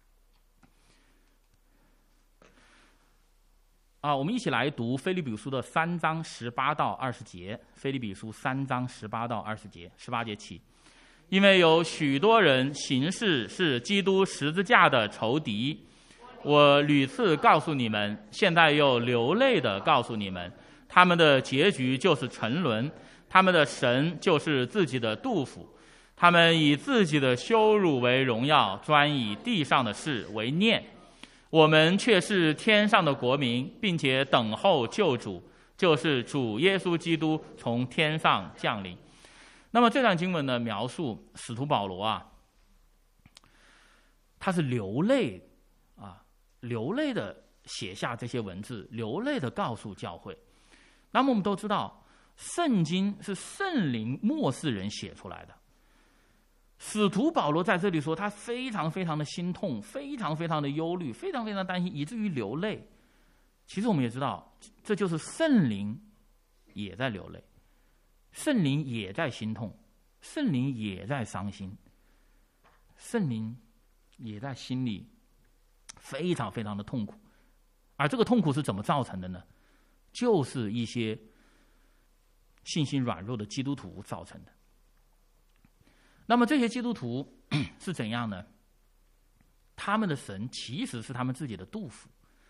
啊，我们一起来读腓立比书的三章十八到二十节。腓立比书三章十八到二十节，十八节起，因为有许多人行事是基督十字架的仇敌，我屡次告诉你们，现在又流泪的告诉你们，他们的结局就是沉沦，他们的神就是自己的肚腹，他们以自己的羞辱为荣耀，专以地上的事为念。我们却是天上的国民，并且等候救主，就是主耶稣基督从天上降临。那么这段经文呢，描述使徒保罗啊，他是流泪啊，流泪的写下这些文字，流泪的告诉教会。那么我们都知道，圣经是圣灵默示人写出来的。使徒保罗在这里说，他非常非常的心痛，非常非常的忧虑，非常非常担心，以至于流泪。其实我们也知道，这就是圣灵也在流泪，圣灵也在心痛，圣灵也在伤心，圣灵也在心里非常非常的痛苦。而这个痛苦是怎么造成的呢？就是一些信心软弱的基督徒造成的。那么这些基督徒是怎样呢？他们的神其实是他们自己的肚腹，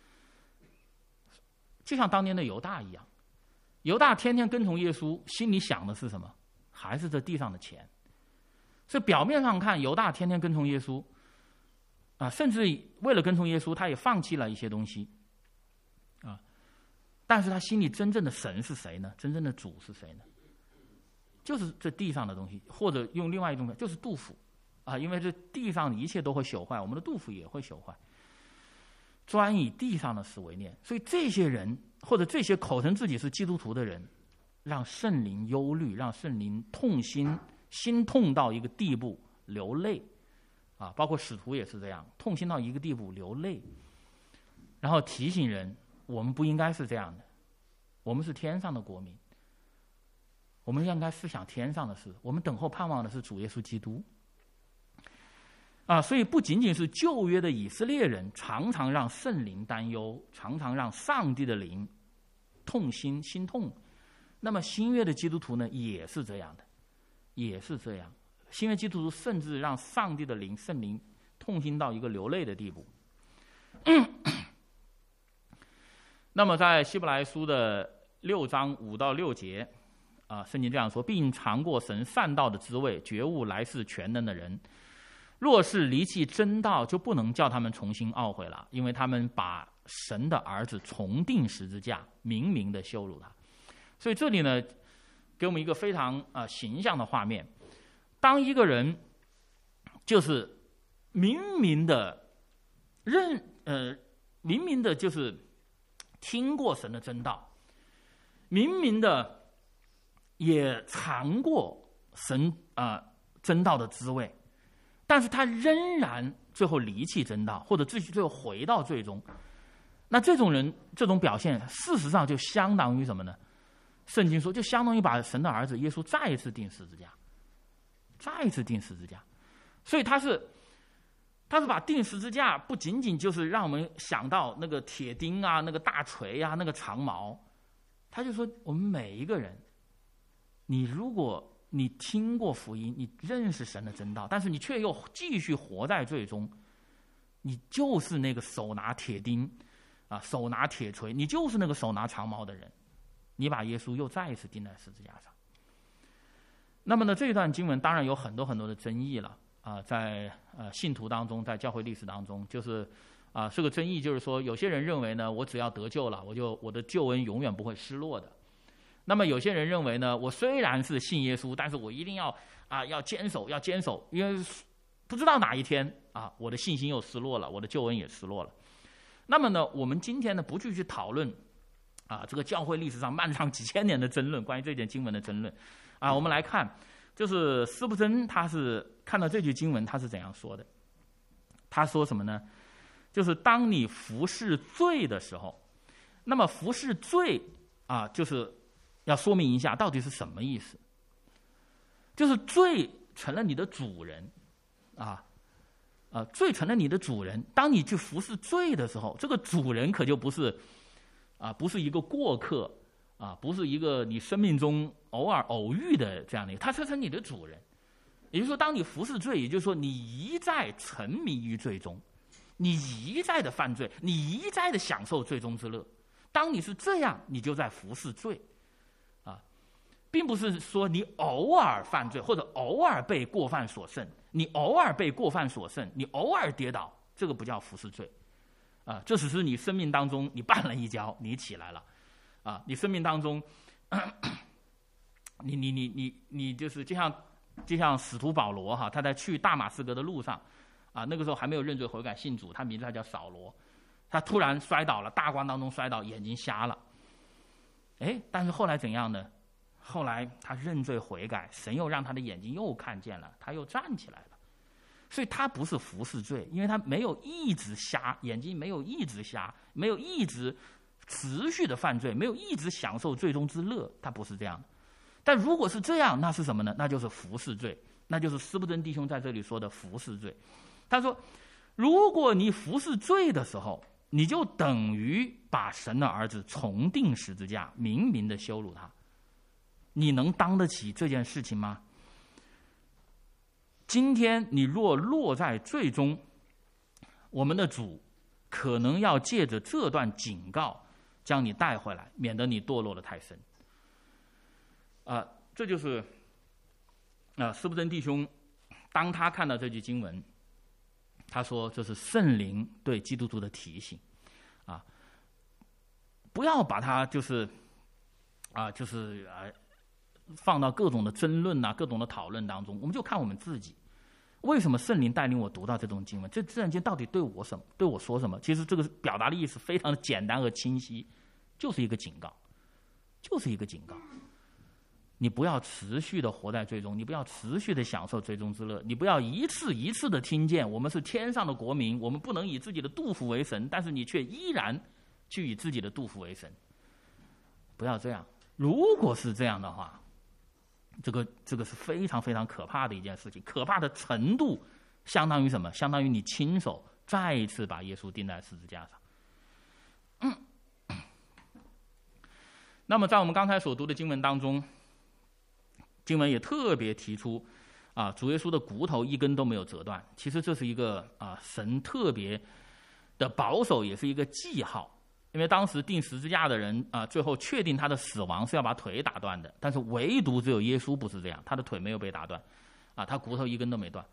就像当年的犹大一样。犹大天天跟从耶稣，心里想的是什么？还是这地上的钱。所以表面上看，犹大天天跟从耶稣啊，甚至为了跟从耶稣，他也放弃了一些东西啊。但是他心里真正的神是谁呢？真正的主是谁呢？就是这地上的东西，或者用另外一种，就是肚腹啊，因为这地上的一切都会朽坏，我们的肚腹也会朽坏。专以地上的事为念，所以这些人或者这些口称自己是基督徒的人，让圣灵忧虑，让圣灵痛心，心痛到一个地步流泪啊，包括使徒也是这样，痛心到一个地步流泪，然后提醒人，我们不应该是这样的，我们是天上的国民。我们应该思想天上的事，我们等候盼望的是主耶稣基督啊！所以不仅仅是旧约的以色列人常常让圣灵担忧，常常让上帝的灵痛心心痛，那么新约的基督徒呢也是这样的，也是这样。新约基督徒甚至让上帝的灵圣灵痛心到一个流泪的地步。嗯、那么在希伯来书的六章五到六节啊，圣经这样说，并尝过神善道的滋味，觉悟来世全能的人，若是离弃真道，就不能叫他们重新懊悔了，因为他们把神的儿子重钉十字架，明明的羞辱他。所以这里呢，给我们一个非常啊、呃、形象的画面：当一个人就是明明的认呃明明的就是听过神的真道，明明的也尝过神啊、呃、真道的滋味，但是他仍然最后离弃真道，或者最最后回到最终，那这种人这种表现，事实上就相当于什么呢？圣经说，就相当于把神的儿子耶稣再一次钉十字架，再一次钉十字架。所以他是他是把钉十字架不仅仅就是让我们想到那个铁钉啊、那个大锤啊、那个长矛，他就说我们每一个人，你如果你听过福音，你认识神的真道，但是你却又继续活在罪中，你就是那个手拿铁钉啊、手拿铁锤，你就是那个手拿长矛的人，你把耶稣又再一次钉在十字架上。那么呢，这段经文当然有很多很多的争议了啊、呃，在呃信徒当中，在教会历史当中，就是啊、呃，这个争议就是说，有些人认为呢，我只要得救了，我就我的救恩永远不会失落的。那么有些人认为呢，我虽然是信耶稣，但是我一定要啊要坚守，要坚守，因为不知道哪一天啊，我的信心又失落了，我的救恩也失落了。那么呢，我们今天呢不去去讨论啊这个教会历史上漫长几千年的争论，关于这件经文的争论啊，我们来看，就是司布真他是看到这句经文，他是怎样说的？他说什么呢？就是当你服侍罪的时候，那么服侍罪啊，就是要说明一下到底是什么意思。就是罪成了你的主人啊。啊，罪成了你的主人。当你去服侍罪的时候，这个主人可就不是啊，不是一个过客啊，不是一个你生命中偶尔偶遇的这样的一个，他是成你的主人。也就是说，当你服侍罪，也就是说你一再沉迷于罪中，你一再的犯罪，你一再的享受罪中之乐。当你是这样，你就在服侍罪啊，并不是说你偶尔犯罪或者偶尔被过犯所胜。你偶尔被过犯所胜，你偶尔跌倒，这个不叫服侍罪，啊，这只是你生命当中你绊了一跤，你起来了，啊，你生命当中，咳咳你你你你你就是就像就像使徒保罗哈，他在去大马士革的路上，啊，那个时候还没有认罪悔改信主，他名字他叫扫罗， 他突然摔倒了，大光当中摔倒，眼睛瞎了。哎，但是后来怎样呢？后来他认罪悔改，神又让他的眼睛又看见了，他又站起来了。所以他不是服侍罪，因为他没有一直瞎，眼睛没有一直瞎，没有一直持续的犯罪，没有一直享受罪中之乐，他不是这样的。但如果是这样，那是什么呢？那就是服侍罪，那就是斯布真弟兄在这里说的服侍罪。他说，如果你服侍罪的时候，你就等于把神的儿子重钉十字架，明明的羞辱他。你能当得起这件事情吗？今天你若落在罪中，我们的主可能要借着这段警告将你带回来，免得你堕落得太深。啊、呃，这就是啊、呃，斯布真弟兄当他看到这句经文，他说这是圣灵对基督徒的提醒啊，不要把它就是啊，就是啊。放到各种的争论啊，各种的讨论当中，我们就看我们自己。为什么圣灵带领我读到这种经文？这自然经到底对我什么？对我说什么？其实这个表达的意思非常的简单和清晰，就是一个警告，就是一个警告。你不要持续的活在罪中，你不要持续的享受罪中之乐，你不要一次一次的听见我们是天上的国民，我们不能以自己的肚腹为神，但是你却依然去以自己的肚腹为神。不要这样。如果是这样的话，这个这个是非常非常可怕的一件事情，可怕的程度相当于什么？相当于你亲手再一次把耶稣钉在十字架上。嗯。那么在我们刚才所读的经文当中，经文也特别提出啊，主耶稣的骨头一根都没有折断。其实这是一个啊神特别的保守，也是一个记号。因为当时钉十字架的人啊，最后确定他的死亡是要把腿打断的，但是唯独只有耶稣不是这样，他的腿没有被打断，啊，他骨头一根都没断。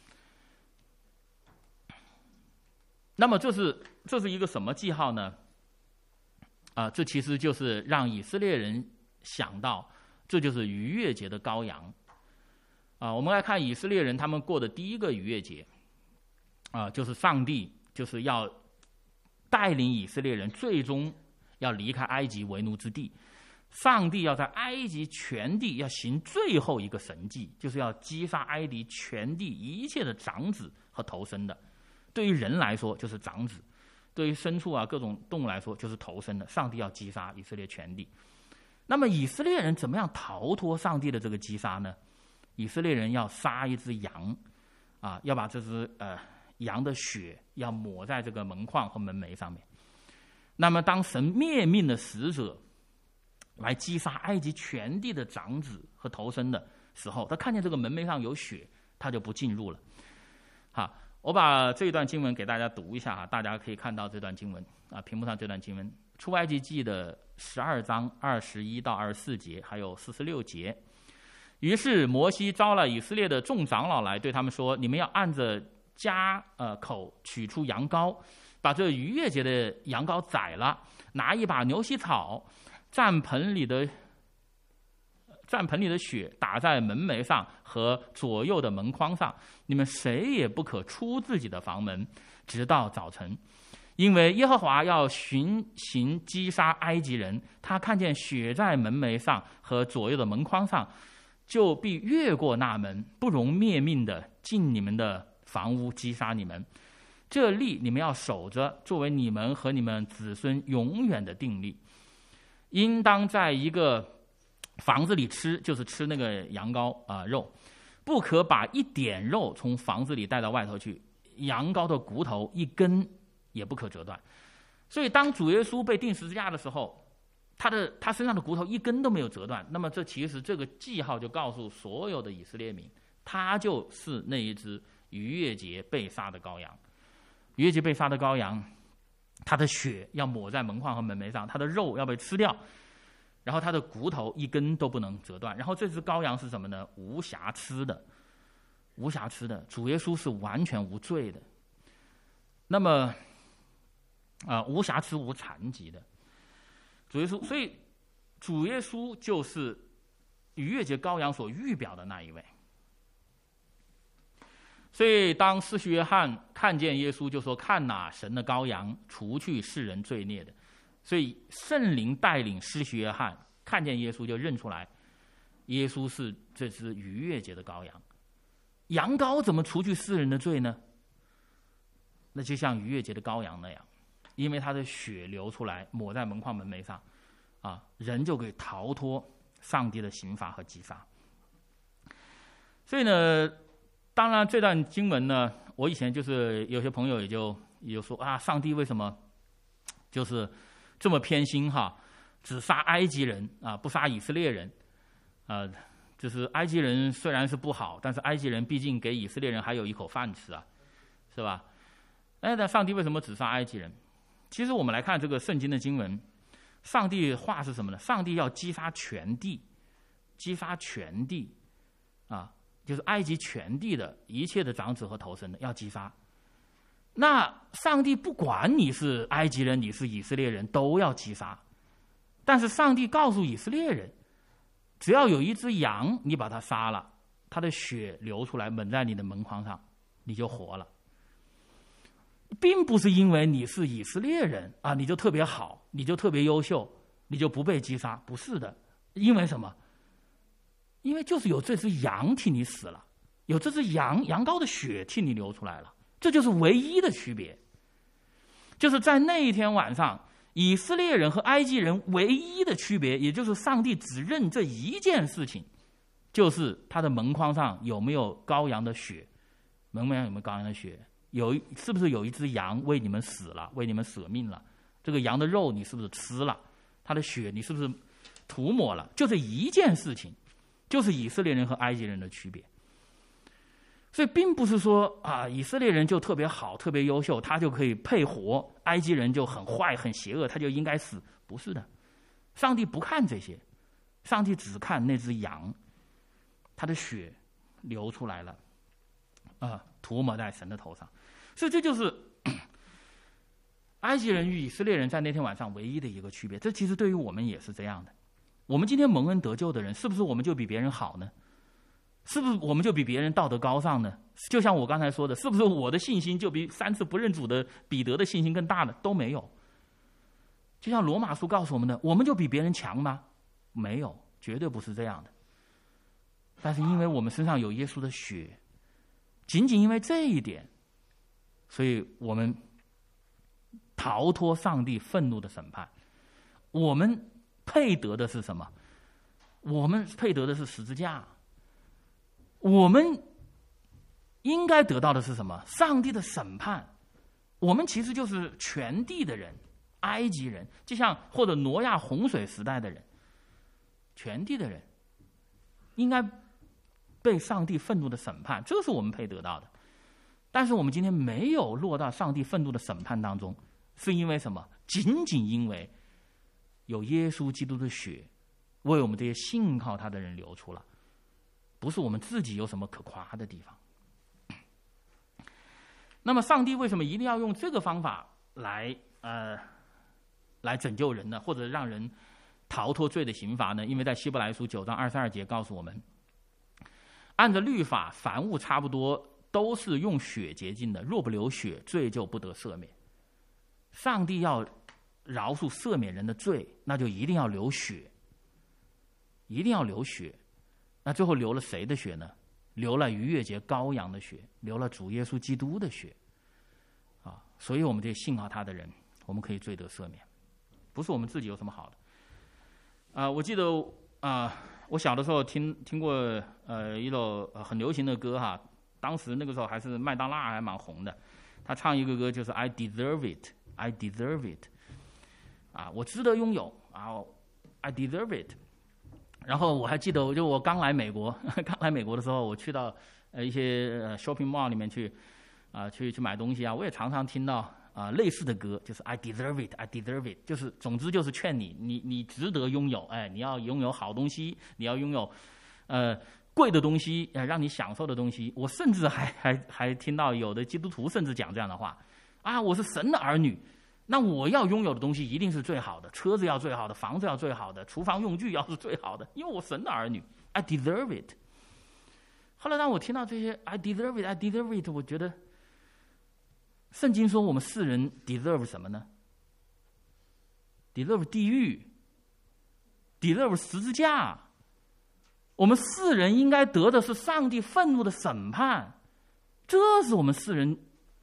那么这是这是一个什么记号呢？啊，这其实就是让以色列人想到，这就是逾越节的羔羊。啊，我们来看以色列人他们过的第一个逾越节，啊，就是上帝就是要带领以色列人最终要离开埃及为奴之地，上帝要在埃及全地要行最后一个神迹，就是要击杀埃及全地一切的长子和头生的。对于人来说就是长子，对于牲畜啊各种动物来说就是头生的。上帝要击杀以色列全地。那么以色列人怎么样逃脱上帝的这个击杀呢？以色列人要杀一只羊，啊，要把这只呃。羊的血要抹在这个门框和门楣上面。那么当神灭命的使者来击杀埃及全地的长子和头生的时候，他看见这个门楣上有血，他就不进入了。好，我把这一段经文给大家读一下哈，大家可以看到这段经文啊，屏幕上这段经文，出埃及记的十二章二十一到二十四节，还有四十六节。于是摩西招了以色列的众长老来，对他们说：你们要按着家呃口取出羊羔，把这逾越节的羊羔宰了，拿一把牛膝草，蘸盆里的蘸盆里的血打在门楣上和左右的门框上。你们谁也不可出自己的房门，直到早晨，因为耶和华要巡行击杀埃及人。他看见血在门楣上和左右的门框上，就必越过那门，不容灭命的进你们的房屋击杀你们。这例你们要守着，作为你们和你们子孙永远的定例。应当在一个房子里吃，就是吃那个羊羔啊、呃、肉，不可把一点肉从房子里带到外头去。羊羔的骨头一根也不可折断。所以当主耶稣被钉十字架的时候，他的他身上的骨头一根都没有折断。那么这其实这个记号就告诉所有的以色列民，他就是那一只逾越节被杀的羔羊。逾越节被杀的羔羊，他的血要抹在门框和门楣上，他的肉要被吃掉，然后他的骨头一根都不能折断。然后这只羔羊是什么呢？无瑕疵的，无瑕疵的。主耶稣是完全无罪的。那么啊、呃，无瑕疵无残疾的主耶稣，所以主耶稣就是逾越节羔羊所预表的那一位。 所以当施洗约翰看见耶稣，就说：“看哪，神的羔羊，除去世人罪孽的。”所以圣灵带领施洗约翰看见耶稣，就认出来，耶稣是这只逾越节的羔羊。羊羔怎么除去世人的罪呢？那就像逾越节的羔羊那样，因为他的血流出来，抹在门框门楣上，啊，人就可以逃脱上帝的刑罚和击杀。所以呢，当然这段经文呢，我以前就是有些朋友也就也就说啊，上帝为什么就是这么偏心哈，只杀埃及人啊，不杀以色列人，呃，就是埃及人虽然是不好，但是埃及人毕竟给以色列人还有一口饭吃啊，是吧？哎，那上帝为什么只杀埃及人？其实我们来看这个圣经的经文，上帝话是什么呢？上帝要击杀全地，击杀全地啊，就是埃及全地的一切的长子和头生的要击杀。那上帝不管你是埃及人，你是以色列人，都要击杀。但是上帝告诉以色列人，只要有一只羊，你把它杀了，它的血流出来，抹在你的门框上，你就活了。并不是因为你是以色列人啊，你就特别好，你就特别优秀，你就不被击杀，不是的。因为什么？因为就是有这只羊替你死了，有这只羊羊羔的血替你流出来了，这就是唯一的区别。就是在那一天晚上，以色列人和埃及人唯一的区别，也就是上帝只认这一件事情，就是他的门框上有没有羔羊的血，门框上有没有羔羊的血，有是不是有一只羊为你们死了，为你们舍命了，这个羊的肉你是不是吃了，他的血你是不是涂抹了，就这一件事情，就是以色列人和埃及人的区别。所以并不是说啊，以色列人就特别好特别优秀，他就可以配活，埃及人就很坏很邪恶，他就应该死，不是的。上帝不看这些，上帝只看那只羊，他的血流出来了啊，涂抹在神的头上。所以这就是埃及人与以色列人在那天晚上唯一的一个区别。这其实对于我们也是这样的。我们今天蒙恩得救的人，是不是我们就比别人好呢？是不是我们就比别人道德高尚呢？就像我刚才说的，是不是我的信心就比三次不认主的彼得的信心更大呢？都没有。就像罗马书告诉我们的，我们就比别人强吗？没有，绝对不是这样的。但是因为我们身上有耶稣的血，仅仅因为这一点，所以我们逃脱上帝愤怒的审判。我们配得的是什么？我们配得的是十字架。我们应该得到的是什么？上帝的审判。我们其实就是全地的人，埃及人，就像或者挪亚洪水时代的人，全地的人应该被上帝愤怒的审判，这是我们配得到的。但是我们今天没有落到上帝愤怒的审判当中，是因为什么？仅仅因为有耶稣基督的血为我们这些信靠他的人流出了，不是我们自己有什么可夸的地方。那么上帝为什么一定要用这个方法来呃来拯救人呢？或者让人逃脱罪的刑罚呢？因为在希伯来书九章二十二节告诉我们，按照律法，凡物差不多都是用血洁净的，若不流血，罪就不得赦免。上帝要饶恕赦免人的罪，那就一定要流血，一定要流血。那最后流了谁的血呢？流了逾越节羔羊的血，流了主耶稣基督的血啊！所以我们这些信靠他的人，我们可以罪得赦免，不是我们自己有什么好的啊、呃！我记得啊、呃，我小的时候听听过呃一首很流行的歌哈，当时那个时候还是麦当娜还蛮红的，他唱一个歌就是 I deserve it, I deserve it 啊，我值得拥有啊 ，I deserve it。然后我还记得，就我刚来美国，刚来美国的时候，我去到呃一些 shopping mall 里面去啊、呃，去去买东西啊，我也常常听到啊、呃、类似的歌，就是 I deserve it, I deserve it， 就是总之就是劝你，你你值得拥有，哎，你要拥有好东西，你要拥有呃贵的东西，呃让你享受的东西。我甚至还还还听到有的基督徒甚至讲这样的话啊，我是神的儿女。那我要拥有的东西一定是最好的，车子要最好的，房子要最好的，厨房用具要是最好的，因为我神的儿女 ，I deserve it。 后来当我听到这些 I deserve it, I deserve it， 我觉得圣经说我们世人 deserve 什么呢？ deserve 地狱， deserve 十字架。我们世人应该得的是上帝愤怒的审判，这是我们世人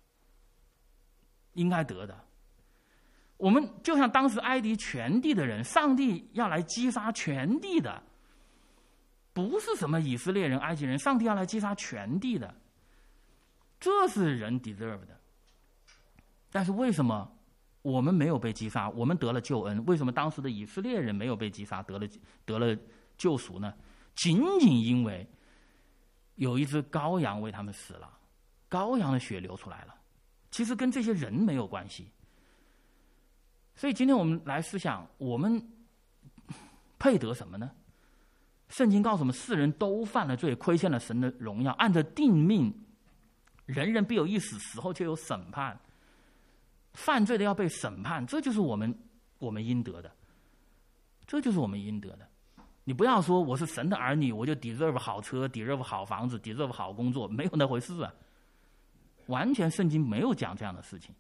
应该得的。我们就像当时埃及全地的人，上帝要来击杀全地的，不是什么以色列人、埃及人，上帝要来击杀全地的，这是人 deserve 的。但是为什么我们没有被击杀，我们得了救恩？为什么当时的以色列人没有被击杀，得了得了救赎呢？仅仅因为有一只羔羊为他们死了，羔羊的血流出来了，其实跟这些人没有关系。所以今天我们来思想，我们配得什么呢？圣经告诉我们，世人都犯了罪，亏欠了神的荣耀，按着定命，人人必有一死，死后就有审判。犯罪的要被审判，这就是我们我们应得的，这就是我们应得的。你不要说我是神的儿女，我就 deserve 好车 ，deserve 好房子 ，deserve 好工作，没有那回事啊！完全圣经没有讲这样的事情。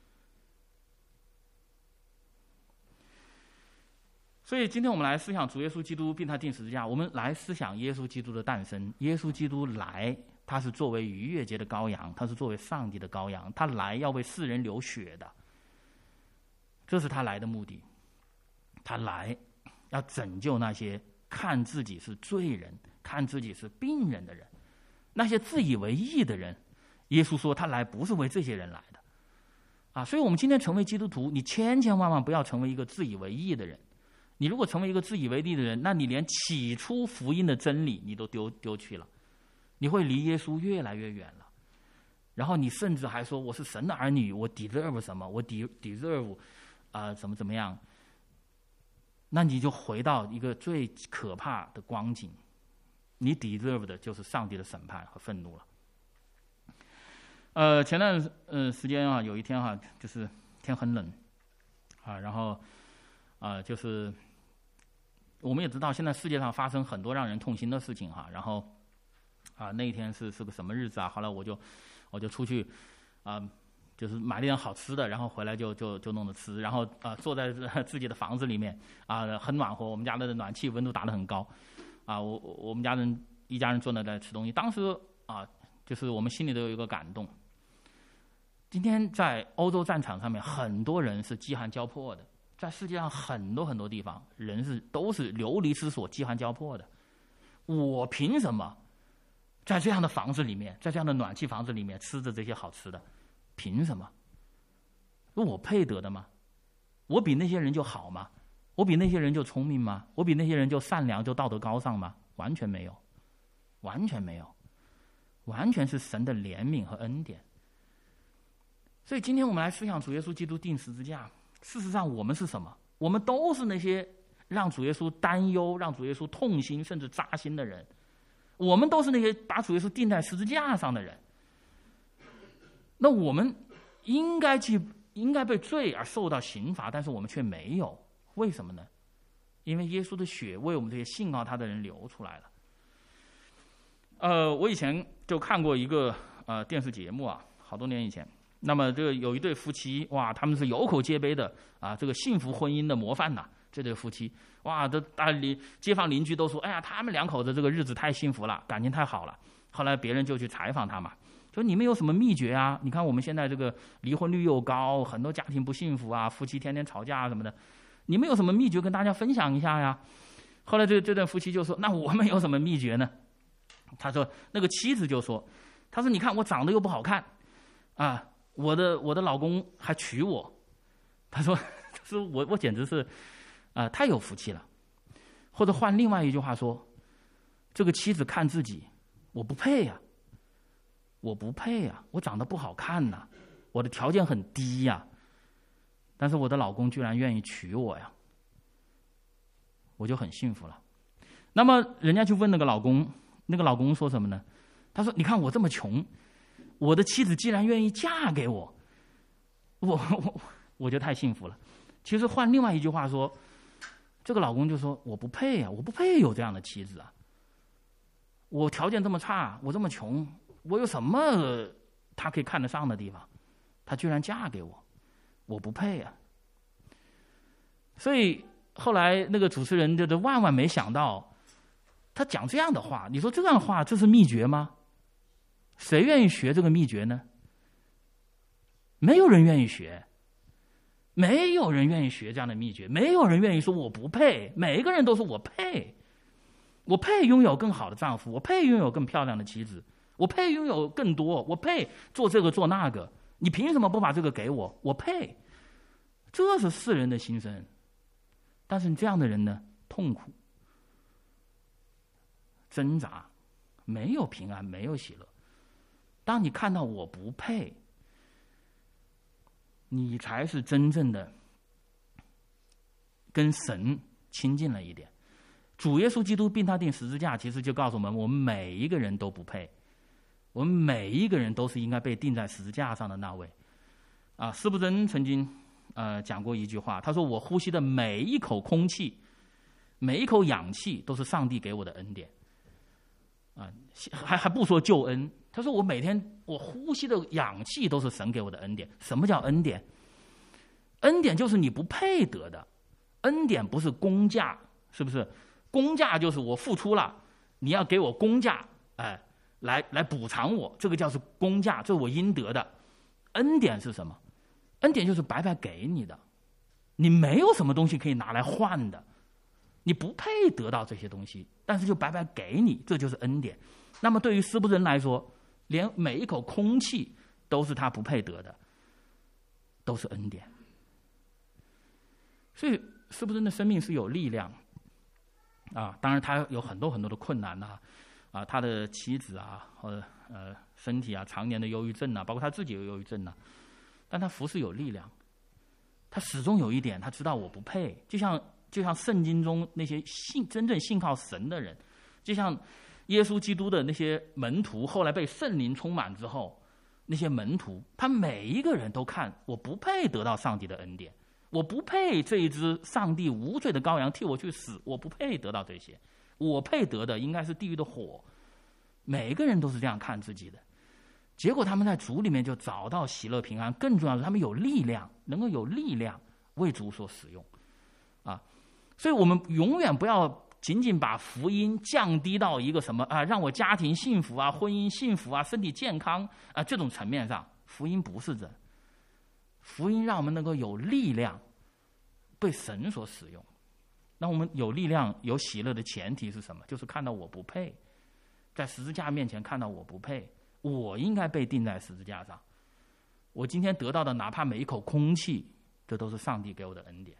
所以今天我们来思想主耶稣基督并他钉十字架，我们来思想耶稣基督的诞生。耶稣基督来，他是作为逾越节的羔羊，他是作为上帝的羔羊，他来要为世人流血的，这是他来的目的。他来要拯救那些看自己是罪人、看自己是病人的人，那些自以为义的人。耶稣说他来不是为这些人来的啊！所以我们今天成为基督徒，你千千万万不要成为一个自以为义的人。你如果成为一个自以为义的人，那你连起初福音的真理你都丢丢去了，你会离耶稣越来越远了。然后你甚至还说我是神的儿女，我 deserve 什么，我 deserve 啊、呃、怎么怎么样，那你就回到一个最可怕的光景，你 deserve 的就是上帝的审判和愤怒了。呃，前段呃时间啊，有一天哈、啊，就是天很冷啊，然后啊、呃、就是我们也知道，现在世界上发生很多让人痛心的事情哈、啊，然后啊那一天是是个什么日子啊？后来我就我就出去啊、呃，就是买了点好吃的，然后回来就就就弄着吃，然后啊、呃、坐在自己的房子里面啊、呃、很暖和，我们家的暖气温度打得很高啊，我我们家人一家人坐那在吃东西，当时啊就是我们心里都有一个感动。今天在欧洲战场上面，很多人是饥寒交迫的，在世界上很多很多地方，人是都是流离失所、饥寒交迫的。我凭什么在这样的房子里面，在这样的暖气房子里面吃着这些好吃的？凭什么？我配得的吗？我比那些人就好吗？我比那些人就聪明吗？我比那些人就善良、就道德高尚吗？完全没有，完全没有，完全是神的怜悯和恩典。所以今天我们来思想主耶稣基督钉十字架，事实上我们是什么？我们都是那些让主耶稣担忧、让主耶稣痛心甚至扎心的人，我们都是那些把主耶稣钉在十字架上的人。那我们应该去应该被罪而受到刑罚，但是我们却没有，为什么呢？因为耶稣的血为我们这些信靠他的人流出来了。呃，我以前就看过一个呃电视节目啊，好多年以前。那么这个有一对夫妻，哇，他们是有口皆碑的啊，这个幸福婚姻的模范呐、啊。这对夫妻，哇，都大邻街坊邻居都说，哎呀，他们两口子这个日子太幸福了，感情太好了。后来别人就去采访他嘛，说你们有什么秘诀啊？你看我们现在这个离婚率又高，很多家庭不幸福啊，夫妻天天吵架什么的，你们有什么秘诀跟大家分享一下呀？后来这这对夫妻就说，那我们有什么秘诀呢？他说那个妻子就说，他说你看我长得又不好看啊。我的我的老公还娶我，他说，他说我我简直是，啊、呃、太有福气了。或者换另外一句话说，这个妻子看自己，我不配呀、啊，我不配呀、啊，我长得不好看呐、啊，我的条件很低呀、啊，但是我的老公居然愿意娶我呀，我就很幸福了。那么人家去问那个老公，那个老公说什么呢？他说：“你看我这么穷。”我的妻子既然愿意嫁给我，我我我就太幸福了。其实换另外一句话说，这个老公就说我不配啊，我不配有这样的妻子啊， 我条件这么差，我这么穷，我有什么他可以看得上的地方？他居然嫁给我，我不配啊！所以后来那个主持人就是万万没想到，他讲这样的话，你说这样的话，这是秘诀吗？谁愿意学这个秘诀呢？没有人愿意学，没有人愿意学这样的秘诀，没有人愿意说我不配，每一个人都说我配，我配拥有更好的丈夫，我配拥有更漂亮的妻子，我配拥有更多，我配做这个做那个，你凭什么不把这个给我？我配。这是世人的心声。但是这样的人呢，痛苦、挣扎，没有平安，没有喜乐。当你看到我不配，你才是真正的跟神亲近了一点。主耶稣基督并他钉十字架，其实就告诉我们，我们每一个人都不配，我们每一个人都是应该被钉在十字架上的那位。啊，司布真曾经呃讲过一句话，他说：“我呼吸的每一口空气，每一口氧气，都是上帝给我的恩典。”啊，还还不说救恩，他说我每天我呼吸的氧气都是神给我的恩典。什么叫恩典？恩典就是你不配得的，恩典不是公价，是不是？公价就是我付出了，你要给我公价，哎，来来补偿我，这个叫是公价，这是我应得的。恩典是什么？恩典就是白白给你的，你没有什么东西可以拿来换的，你不配得到这些东西，但是就白白给你，这就是恩典。那么对于司布真来说，连每一口空气都是他不配得的，都是恩典。所以司布真的生命是有力量啊，当然他有很多很多的困难呐、啊，啊，他的妻子啊，或者呃身体啊，常年的忧郁症啊，包括他自己有忧郁症啊，但他服侍有力量，他始终有一点，他知道我不配，就像就像圣经中那些信真正信靠神的人，就像耶稣基督的那些门徒，后来被圣灵充满之后，那些门徒，他每一个人都看我不配得到上帝的恩典，我不配这一只上帝无罪的羔羊替我去死，我不配得到这些，我配得的应该是地狱的火。每个人都是这样看自己的，结果他们在主里面就找到喜乐平安，更重要的是他们有力量，能够有力量为主所使用啊。所以我们永远不要仅仅把福音降低到一个什么啊，让我家庭幸福啊，婚姻幸福啊，身体健康啊这种层面上，福音不是这，福音让我们能够有力量被神所使用。那我们有力量有喜乐的前提是什么？就是看到我不配，在十字架面前看到我不配，我应该被钉在十字架上，我今天得到的哪怕每一口空气，这都是上帝给我的恩典。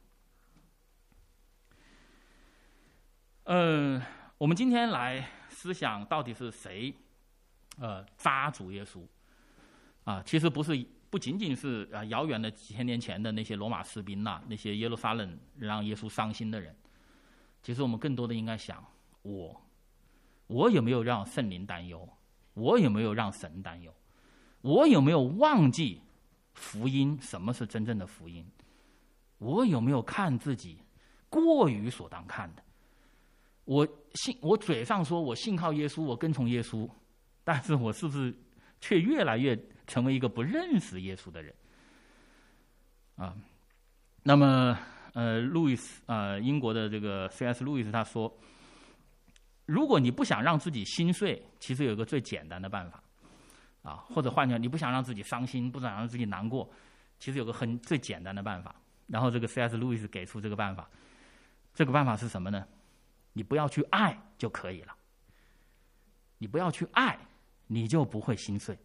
嗯，我们今天来思想到底是谁呃扎主耶稣啊？其实不是，不仅仅是啊遥远的几千年前的那些罗马士兵呐、啊，那些耶路撒冷让耶稣伤心的人。其实我们更多的应该想，我我有没有让圣灵担忧？我有没有让神担忧？我有没有忘记福音？什么是真正的福音？我有没有看自己过于所当看的？我信，我嘴上说我信靠耶稣，我跟从耶稣，但是我是不是却越来越成为一个不认识耶稣的人？啊，那么呃，路易斯呃，英国的这个 C S 路易斯他说，如果你不想让自己心碎，其实有一个最简单的办法，啊，或者换句话，你不想让自己伤心，不想让自己难过，其实有个很最简单的办法。然后这个 C S 路易斯给出这个办法，这个办法是什么呢？你不要去爱就可以了。你不要去爱，你就不会心碎。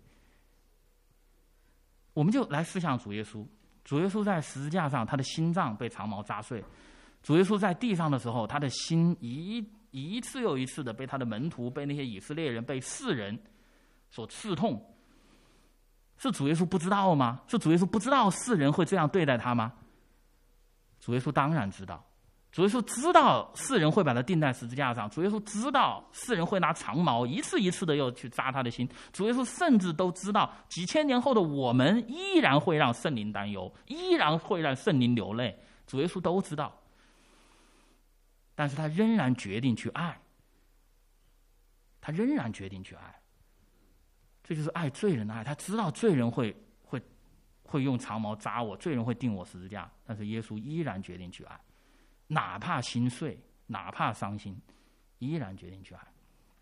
我们就来思想主耶稣，主耶稣在十字架上，他的心脏被长矛扎碎；主耶稣在地上的时候，他的心一一次又一次的被他的门徒、被那些以色列人、被世人所刺痛。是主耶稣不知道吗？是主耶稣不知道世人会这样对待他吗？主耶稣当然知道。主耶稣知道世人会把他钉在十字架上，主耶稣知道世人会拿长矛一次一次的又去扎他的心，主耶稣甚至都知道几千年后的我们依然会让圣灵担忧，依然会让圣灵流泪，主耶稣都知道，但是他仍然决定去爱， 他仍然决定去爱。这就是爱罪人的爱。他知道罪人会会会用长矛扎我，罪人会钉我十字架，但是耶稣依然决定去爱，哪怕心碎，哪怕伤心，依然决定去爱。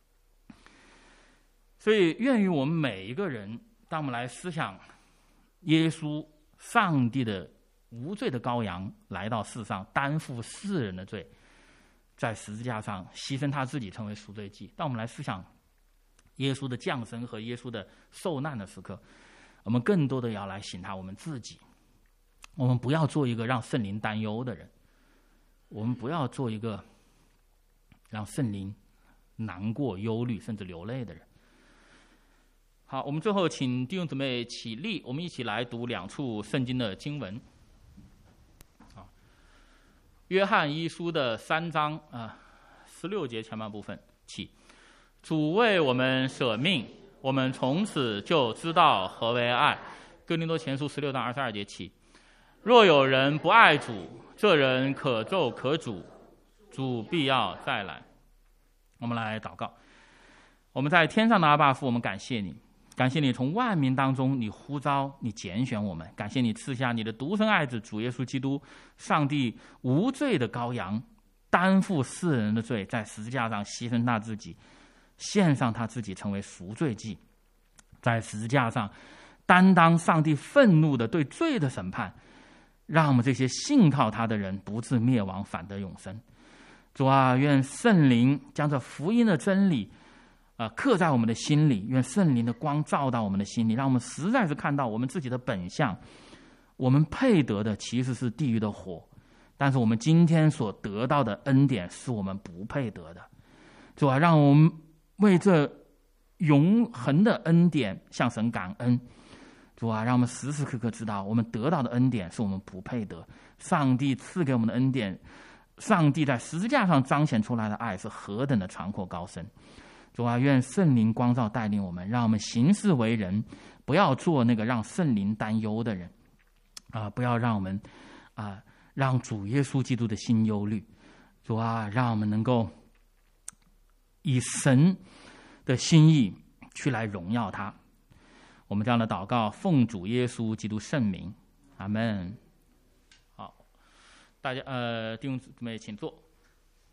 所以愿于我们每一个人，当我们来思想耶稣上帝的无罪的羔羊来到世上，担负世人的罪，在十字架上牺牲他自己成为赎罪祭。当我们来思想耶稣的降生和耶稣的受难的时刻，我们更多的要来省察我们自己。我们不要做一个让圣灵担忧的人，我们不要做一个让圣灵难过、忧虑甚至流泪的人。好，我们最后请弟兄姊妹起立，我们一起来读两处圣经的经文。啊，约翰一书的三章啊十六节前半部分起，主为我们舍命，我们从此就知道何为爱。哥林多前书十六章二十二节起，若有人不爱主，这人可咒可诅，主必要再来。我们来祷告。我们在天上的阿爸父，我们感谢你，感谢你从万民当中你呼召你拣选我们，感谢你赐下你的独生爱子主耶稣基督，上帝无罪的羔羊，担负世人的罪，在十字架上牺牲他自己，献上他自己成为赎罪祭，在十字架上担当上帝愤怒的对罪的审判，让我们这些信靠他的人不致灭亡，反得永生。主啊，愿圣灵将这福音的真理呃，刻在我们的心里，愿圣灵的光照到我们的心里，让我们实在是看到我们自己的本相。我们配得的其实是地狱的火，但是我们今天所得到的恩典是我们不配得的。主啊，让我们为这永恒的恩典向神感恩。主啊，让我们时时刻刻知道我们得到的恩典是我们不配得，上帝赐给我们的恩典，上帝在十字架上彰显出来的爱是何等的长阔高深。主啊，愿圣灵光照带领我们，让我们行事为人不要做那个让圣灵担忧的人啊！不要让我们啊让主耶稣基督的心忧虑。主啊，让我们能够以神的心意去来荣耀他。我们这样的祷告，奉主耶稣基督圣名，阿们。好，大家呃弟兄姊妹请坐。